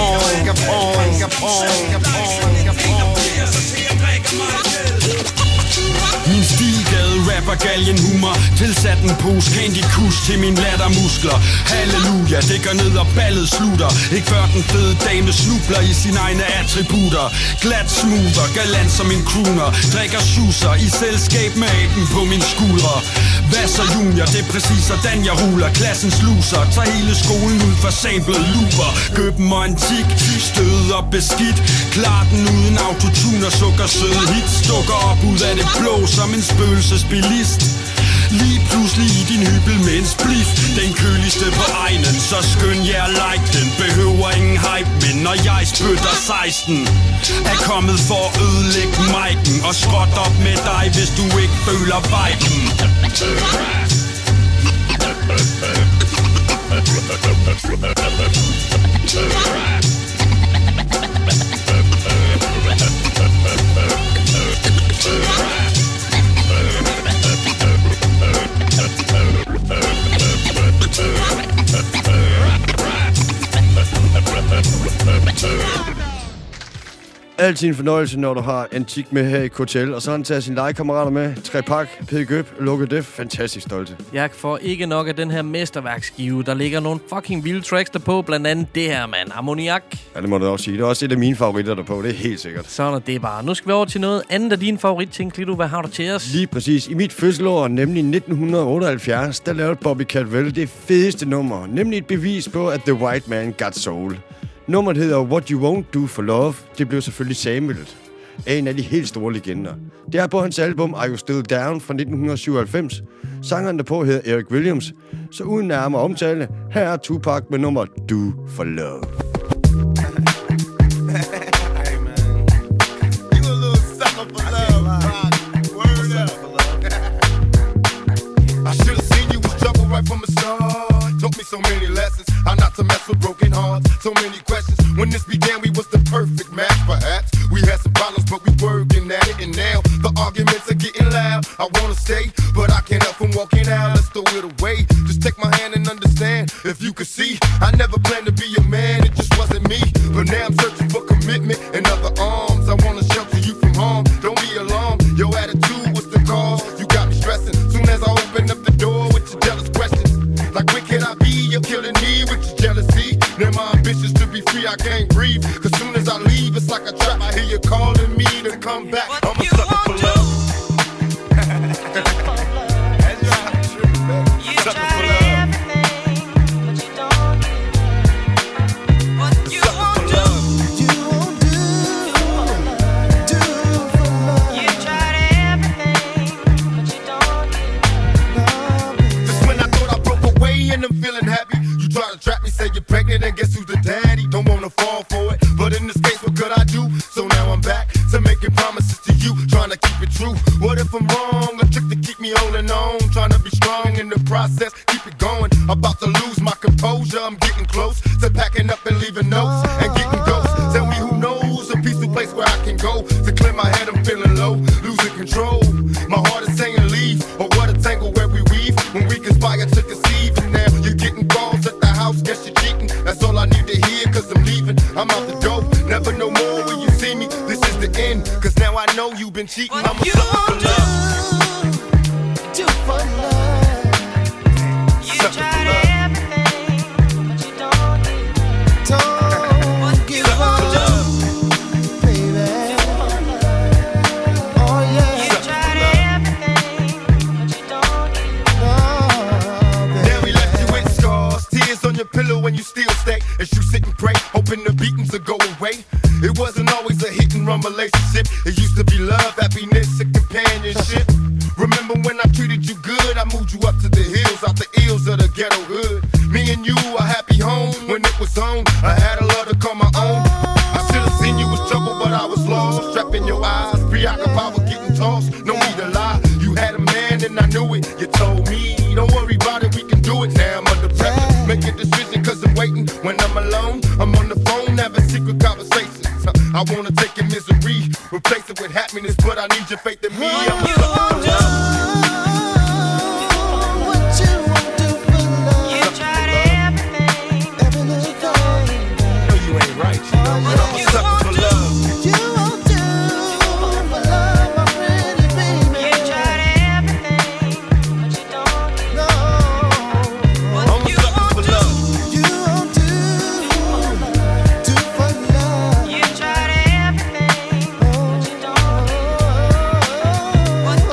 Min stilgade rapper galgen humor. Tilsat en pose Candy Kush til mine lattermuskler. Halleluja, det går ned og ballet slutter. Ikke før den fede dame snubler i sine egne attributter. Glat smoother, galant som en crooner. Drikker schusser i selskab med aben på min skuldre. Vasser junior, det er præcis sådan jeg ruler. Klassens loser, tager hele skolen ud for samlet looper. Køben og antik, stød og beskidt. Klar den uden autotune og sukker søde hits. Dukker op ud af det blå som en spøgelsesbilist. Lige pludselig i din hybel med en spliff. Den køligste på egnen, så skøn jeg like den. Behøver ingen hype, men når jeg spytter 16 er kommet for at ødelægge mic'en. Og skråt op med dig, hvis du ikke føler viben. Altid en fornøjelse, når du har Antik med her i KTL. Og så har han taget sine legekammerater med. Trepak, Pede Gøb, Lukke Def. Fantastisk stolte. Jeg får ikke nok af den her mesterværksskive. Der ligger nogle fucking vilde tracks derpå. Blandt andet det her, mand. Ammoniak. Ja, det må du også sige. Det er også et af mine favoritter derpå. Det er helt sikkert. Sådan er det bare. Nu skal vi over til noget andet af dine favoritting, Klito. Hvad har du til os? Lige præcis. I mit fødselsår, nemlig 1978, der lavede Bobby Caldwell det fedeste nummer. Nemlig et bevis på, at The White Man Got Soul. Nummeret hedder What You Won't Do For Love. Det blev selvfølgelig samlet af en af de helt store legender. Det er på hans album Are You Still Down fra 1997. Sangeren derpå hedder Eric Williams. Så uden nærmere omtale, her er Tupac med nummeret Do For Love. Right from the start, taught me so many lessons. How not to mess with broken hearts. So many questions. When this began, we was the perfect match. Perhaps we had some problems, but we working at it. And now the arguments are getting loud. I wanna stay, but I can't help from walking out. Let's throw it away. Just take my hand and understand. If you could see, I never planned to be your man. It just wasn't me. But now I'm searching for commitment and other arms. I wanna shelter you from harm. Don't be alarmed. Your attitude was the cause. You got me stressing. Soon as I open up the door with your jealous questions. Like when can I be? You're killing me with your jealousy. Now my ambitions to be free, I can't breathe. Cause soon as I leave, it's like a trap. I hear you calling me to come back. I'm a sucker for love. Sucker for love. I'm feeling happy. You try to trap me, say you're pregnant, and guess who's the daddy? Don't wanna fall for it, but in this case, what could I do? So now I'm back to making promises to you, trying to keep it true. What if I'm wrong? A trick to keep me holding on, trying to be strong in the process, keep it going. About to lose my composure, I'm getting close to packing up and leaving notes and getting ghosts. Tell me who knows a peaceful place where I can go to clear my head. I'm feeling low, losing control. My heart is saying leave, or what a tangle where we weave when we conspire to conceive. And now you're getting calls at the house, guess you're cheating. That's all I need to hear, cause I'm leaving. I'm out the door, never no more when you see me. This is the end, cause now I know you've been cheating. I'm a sucker for love. Do for love. You tried everything, but you don't give up. On your pillow when you still stay as you sit and pray, hoping the beatings will go away. It wasn't always a hit and run relationship. It used to be love, happiness, and companionship. Remember when I treated you good? I moved you up to the hills, out the ills of the ghetto hood. Me and you, a happy home when it was on. I had a love to call my own. I should have seen you was trouble, but I was lost. Trapped in your eyes, preoccupied with getting tossed. No need to lie, you had a man and I knew it. You told me, don't worry about it, we can do it. Now I'm under pressure. Make a decision cause I'm waiting. When I'm alone, I'm on the phone having secret conversations. I wanna take your misery, replace it with happiness, but I need your faith in me. I'm a sucker for love. What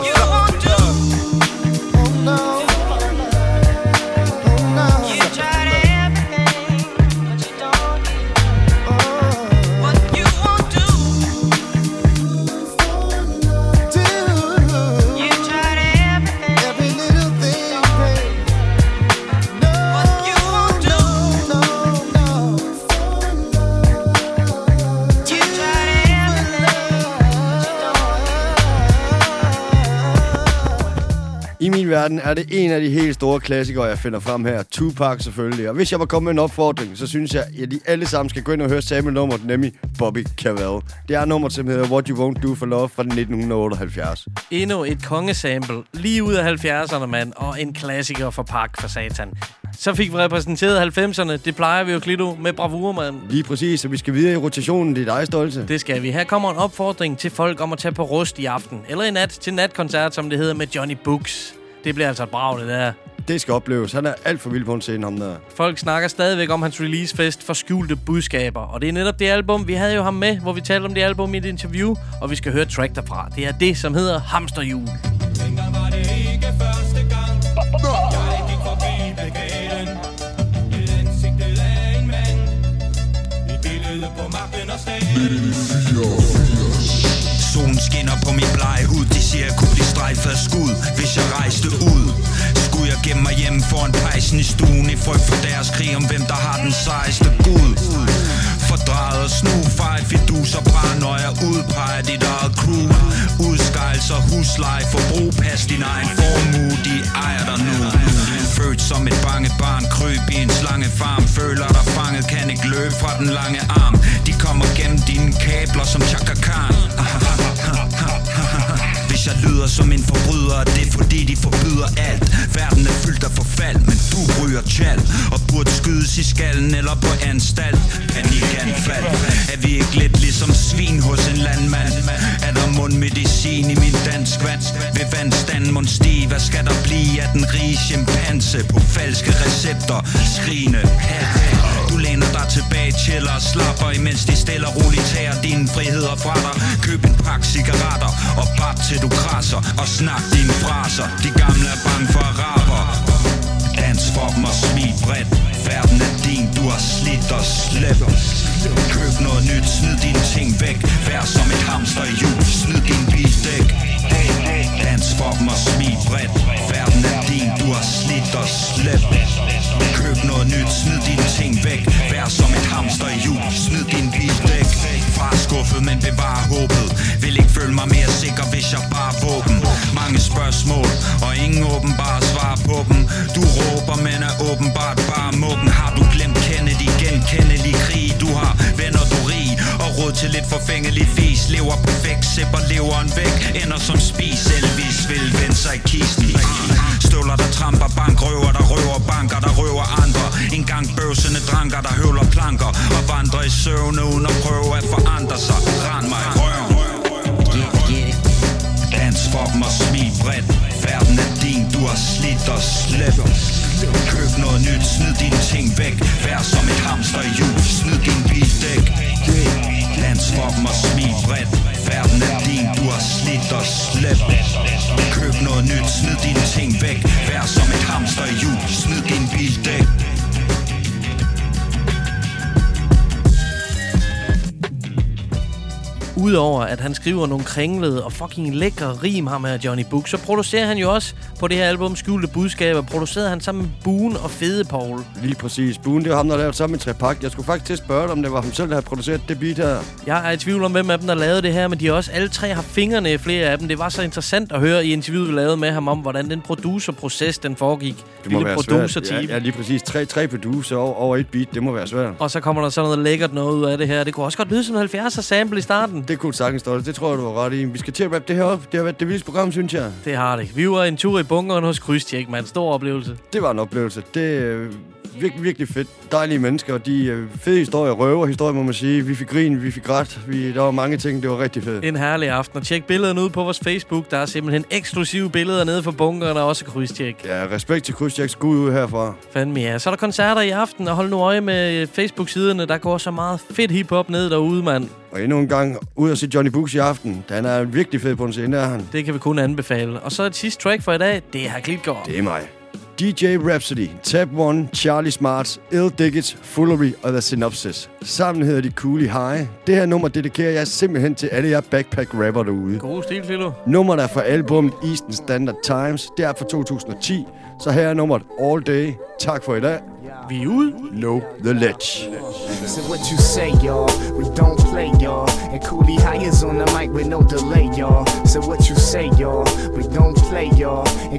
verden er det en af de helt store klassikere, jeg finder frem her. Tupac selvfølgelig. Og hvis jeg var kommet med en opfordring, så synes jeg, at de alle sammen skal gå ind og høre sample-nummeret, nemlig Bobby Cavell. Det er nummeret, som hedder What You Won't Do For Love fra 1978. Endnu et kongesample, lige ud af 70'erne, mand, og en klassiker for Pac for satan. Så fik vi repræsenteret 90'erne. Det plejer vi jo, Klito, med bravur, mand. Lige præcis, så vi skal videre i rotationen. Det er dig, Stolte. Det skal vi. Her kommer en opfordring til folk om at tage på Rust i aften. Eller i nat til natkoncert, som det hedder, med Johnny Books. Det bliver altså et brag, det der. Det skal opleves. Han er alt for vild på en scene, ham der. Folk snakker stadigvæk om hans releasefest for skjulte budskaber. Og det er netop det album, vi havde jo ham med, hvor vi talte om det album i et interview. Og vi skal høre track derfra. Det er det, som hedder Hamsterhjul. Dengang var det ikke første gang, jeg gik forbi plakaten. Et ansigtet af en mand, et billede på magten og staten. Solen skinner på min blege hud. De siger, jeg kunne blive strejfet af skud, hvis jeg rejste ud. Skulle jeg gemme mig hjemme foran pejsen i stuen, i frygt for deres krig om hvem der har den sejeste gud. Fordraget og snufejl, fidus og paranoia, udpeger dit eget crew. Udskejelser, husleje, forbrug, pas din egen formue, de ejer dig nu. Født som et bange barn, kryb i en slangefarm. Føler dig fanget, kan ikke løbe fra den lange arm. De kommer gennem dine kabler som Chaka Khan. Hvis jeg lyder som en forbryder, er det fordi de forbyder alt. Verden er fyldt af forfald, men du ryger tjal og burde skydes i skallen eller på anstalt. Panikanfald. Er vi ikke lidt ligesom svin hos en landmand? Er der mundmedicin i min dansk vand? Vil vandstanden mund stige? Hvad skal der blive af den rige chimpanse på falske recepter? Skrigende du læner dig tilbage, chiller og slapper, imens de stille og roligt tager dine friheder fra dig. Køb en pakke cigaretter og bat til du krasser, og snak dine fraser. De gamle er bange for araber. Dans for dem og smil bredt. Verden er din, du har slidt og slæbt. Køb noget nyt, smid dine ting væk. Vær som et hamster i jul, smid din bildæk. Dans for dem og smil bredt. Verden er din, du har slidt og slæbt. Køb noget nyt, smid dine ting væk. Vær som et hamster i jul, smid din bildæk. Far skuffet, men bevar håbet. Vil ikke føle mig mere sikker, hvis jeg bare våben. Mange spørgsmål, og ingen åbenbare svar på dem. Du råber, men er åbenbart bare mukken. Har du glemt Kennedy, genkendelig krig? Du har venner, du rig, og råd til lidt forfængelig fis. Lever perfekt, sipper leveren væk. Ender som spis, Elvis vil vende sig i kisten. Støvler, der tramper, bankrøver, der røver banker, der røver andre. En gang bøvsende dranker, der høvler planker og vandrer i søvne uden at prøve at forandre sig. Rand mig i røven. Dans for dem og smil bredt. Verden er din, du har slidt og slæbt. Køb noget nyt, smid dine ting væk. Vær som et hamster i jul, smid din bildæk. Dans for dem og smil bredt. Verden er din, du har slidt og slæbt. Køb noget nyt, smid dine ting væk. Vær som et hamster i jul, smid din bildæk. Udover at han skriver nogle kringlede og fucking lækre rim ham her Johnny Book, så producerer han jo også på det her album Skjulte Budskaber. Producerede han sammen med Boone og Fede Paul. Lige præcis. Boone, det var ham, der lavede sammen med Trepak. Jeg skulle faktisk til at spørge dig, om det var ham selv, der havde produceret det beat her. Jeg er i tvivl om, hvem af dem, der lavede det her, men de har også alle tre har fingrene i flere af dem. Det var så interessant at høre i interviewet, vi lavede med ham om, hvordan den producerproces, den foregik. Det må være svært. Ja, lige præcis. Tre producer over et beat. Det må være svært. Og så kommer der sådan noget lækkert noget ud af det her. Det kunne også godt lyde som 70'er sample i starten. Det kunne sagtens stå. Det tror jeg, du var ret i. Vi skal til at rappe det her op. Det har været det vildeste program, synes jeg. Det har det. Vi var en tur i bunkeren hos Krydstjek, man. Stor oplevelse. Det var en oplevelse. Det er virkelig, virkelig fedt. Dejlige mennesker. De fede historier, røverhistorier, må man sige. Vi fik grin, vi fik ret. Der var mange ting. Det var rigtig fedt. En herlig aften. Og tjek billederne ud på vores Facebook. Der er simpelthen eksklusive billeder nede for bunkeren og også Krydstjek. Ja, respekt til Krydstjek. Skud ud herfra. Fandme ja. Så er der koncerter i aften, og hold nu øje med Facebook-siderne. Der går så meget fedt hiphop ned derude, mand. Og endnu en gang ud at se Johnny Books i aften. Han er virkelig fed på en scene, der han. Det kan vi kun anbefale. Og så et sidste track for i dag. Det er her Klitgaard. Det er mig. DJ Rhapsody, Tab One, Charlie Smarts, Ill Diggits, Foolery og The Synopsis. Sammen hedder de Coolie High. Det her nummer dedikerer jeg simpelthen til alle jer backpack-rapper derude. God stil, Filo. Nummeret er fra albumet Eastern Standard Times. Det er fra 2010. Så her er nummeret All Day. Tak for i dag. Vi er ude. Know the Ledge. So what you say, y'all? We don't play, y'all. And Coolie High is on the mic with no delay, y'all. So what you say, y'all? We don't play, y'all. And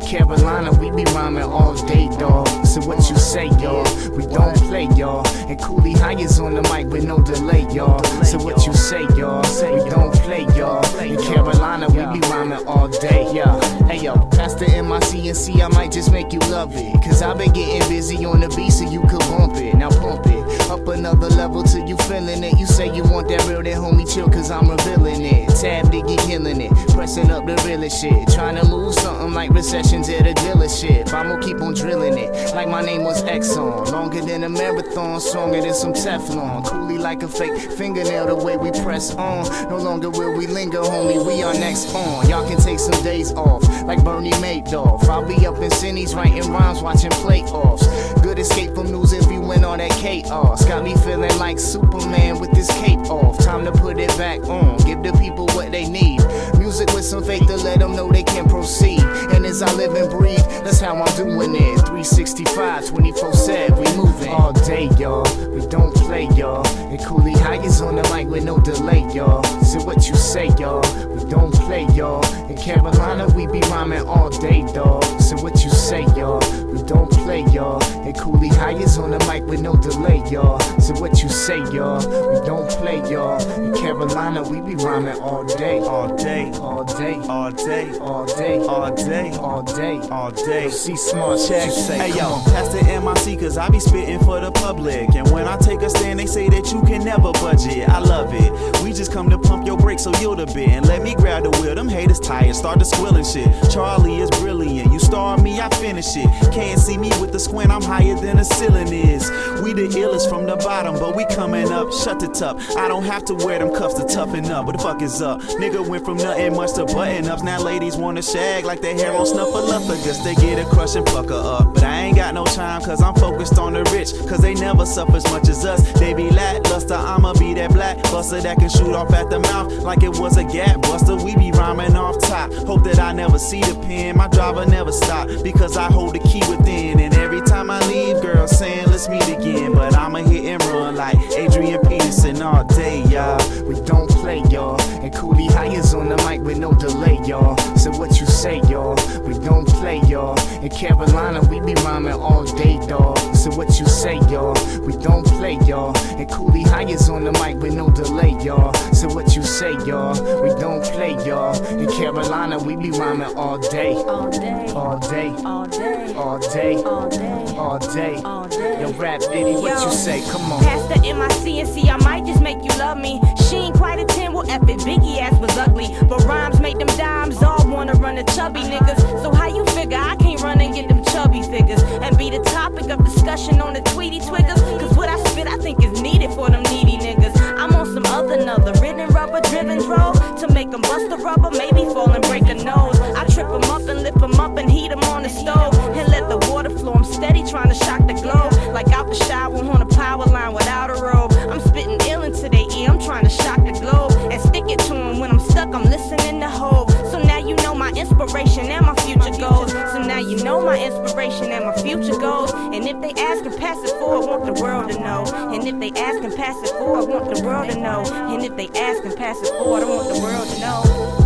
Carolina, we be rhyming all day, dawg. So what you say, y'all? We don't play, y'all. And Cooley High is on the mic with no delay, y'all. So what you say, y'all? We don't play, y'all. In Carolina, we be rhyming all day, yeah. Hey, yo, Pastor MIC and C, I might just make you love it. Cause I've been getting busy on the beat so you could bump it. Now pump it up another level till you feeling it. You say you want that real, that homie chill, cause I'm revealing it. Tab Diggy killing it, pressing up the realest shit. Trying to move something like recessions at a dealership. I'ma keep on drilling it, like my name was Exxon. Longer than a marathon, stronger than some Teflon. Coolly like a fake fingernail, the way we press on. No longer will we linger, homie, we are next on. Y'all can take some days off, like Bernie Madoff. I'll be up in Cindy's writing rhymes, watching playoffs. Good escape from news if you win all that chaos. Got me feeling like Superman with this cape off. Time to put it back on, give the people what they need. Music with some faith to let them know they can proceed. And as I live and breathe, that's how I'm doing it. 365, 24/7, we moving all day, y'all. We don't play, y'all. And Cooley High is on the mic with no delay, y'all. So what you say, y'all? We don't play, y'all. In Carolina, we be rhyming all day, dawg. So what you say, y'all? We don't play, y'all. And Cooley High is on the mic with no delay, y'all. So what you say, y'all? We don't play, y'all. In Carolina, we be rhyming all day, all day, all day, all day, all day, all day, all day, all day. See smart check. Hey yo, Pastor MIC, cause I be spitting for the public. And when I take a stand, they say that you can never budget. I love it. We just come to pump your brakes so yield a bit. And let me grab the wheel, them haters tired, start to squilling shit. Charlie is brilliant, you star me, I finish it. Can't see me with the squint, I'm higher than the ceiling is. We the illest from the bottom, but we coming up, shut the top. I don't have to wear them cuffs to toughen up, what the fuck is up? Nigga went from nothing much to button ups. Now ladies wanna shag like their hair on Snuffleupagus. They get a crush and pucker up. But I ain't got no time cause I'm focused on the rich. Cause they never suffer as much as us. They be lackluster, I'ma be that black buster that can shoot off at the mouth like it was a gap buster. We be rhyming off top. Hope that I never see the pen. My driver never stop because I hold the key within. And every time I leave, girls saying let's meet again. But I'ma hit and run like Adrian Peterson all day, y'all. We don't play, y'all. And Cooley High is on the mic with no delay, y'all. So what you say, y'all? We don't play, y'all. In Carolina, we be rhyming all day, dawg. So what you say, y'all? We don't play, y'all. And Cooley High is on the mic with no delay, y'all. So what you say, y'all? We don't play, y'all. In Carolina, we be rhyming all day. All day. All day. All day. All day. All day. All day. All day. Yo, Rap Diddy, what you say? Come on. Pastor MIC and C, I might just make you love me. She ain't quite a 10, well, F it, Biggie ass was ugly. But rhymes make them dimes, all wanna run the chubby niggas. So how you figure I can't run and get them chubby figures? And be the topic of discussion on the Tweety Twiggers? Cause what I spit I think is needed for them needy niggas. I'm on some other ridden rubber driven drove to make them bust the rubber, maybe fall and break a nose. I trip them up and lift them up and heat them on the stove. And let the water flow, I'm steady trying to shock the globe. Like out the shower on a power line without a robe. I'm spitting ill into their ear, I'm trying to shock the globe. And stick it to them when I'm stuck, I'm listening to Hov. So now you know my inspiration and my future goals. So now you know my inspiration and my future goals. And if they ask and pass it forward, I want the world to know. And if they ask and pass it forward, I want the world to know. And if they ask and pass it forward, I want the world to know.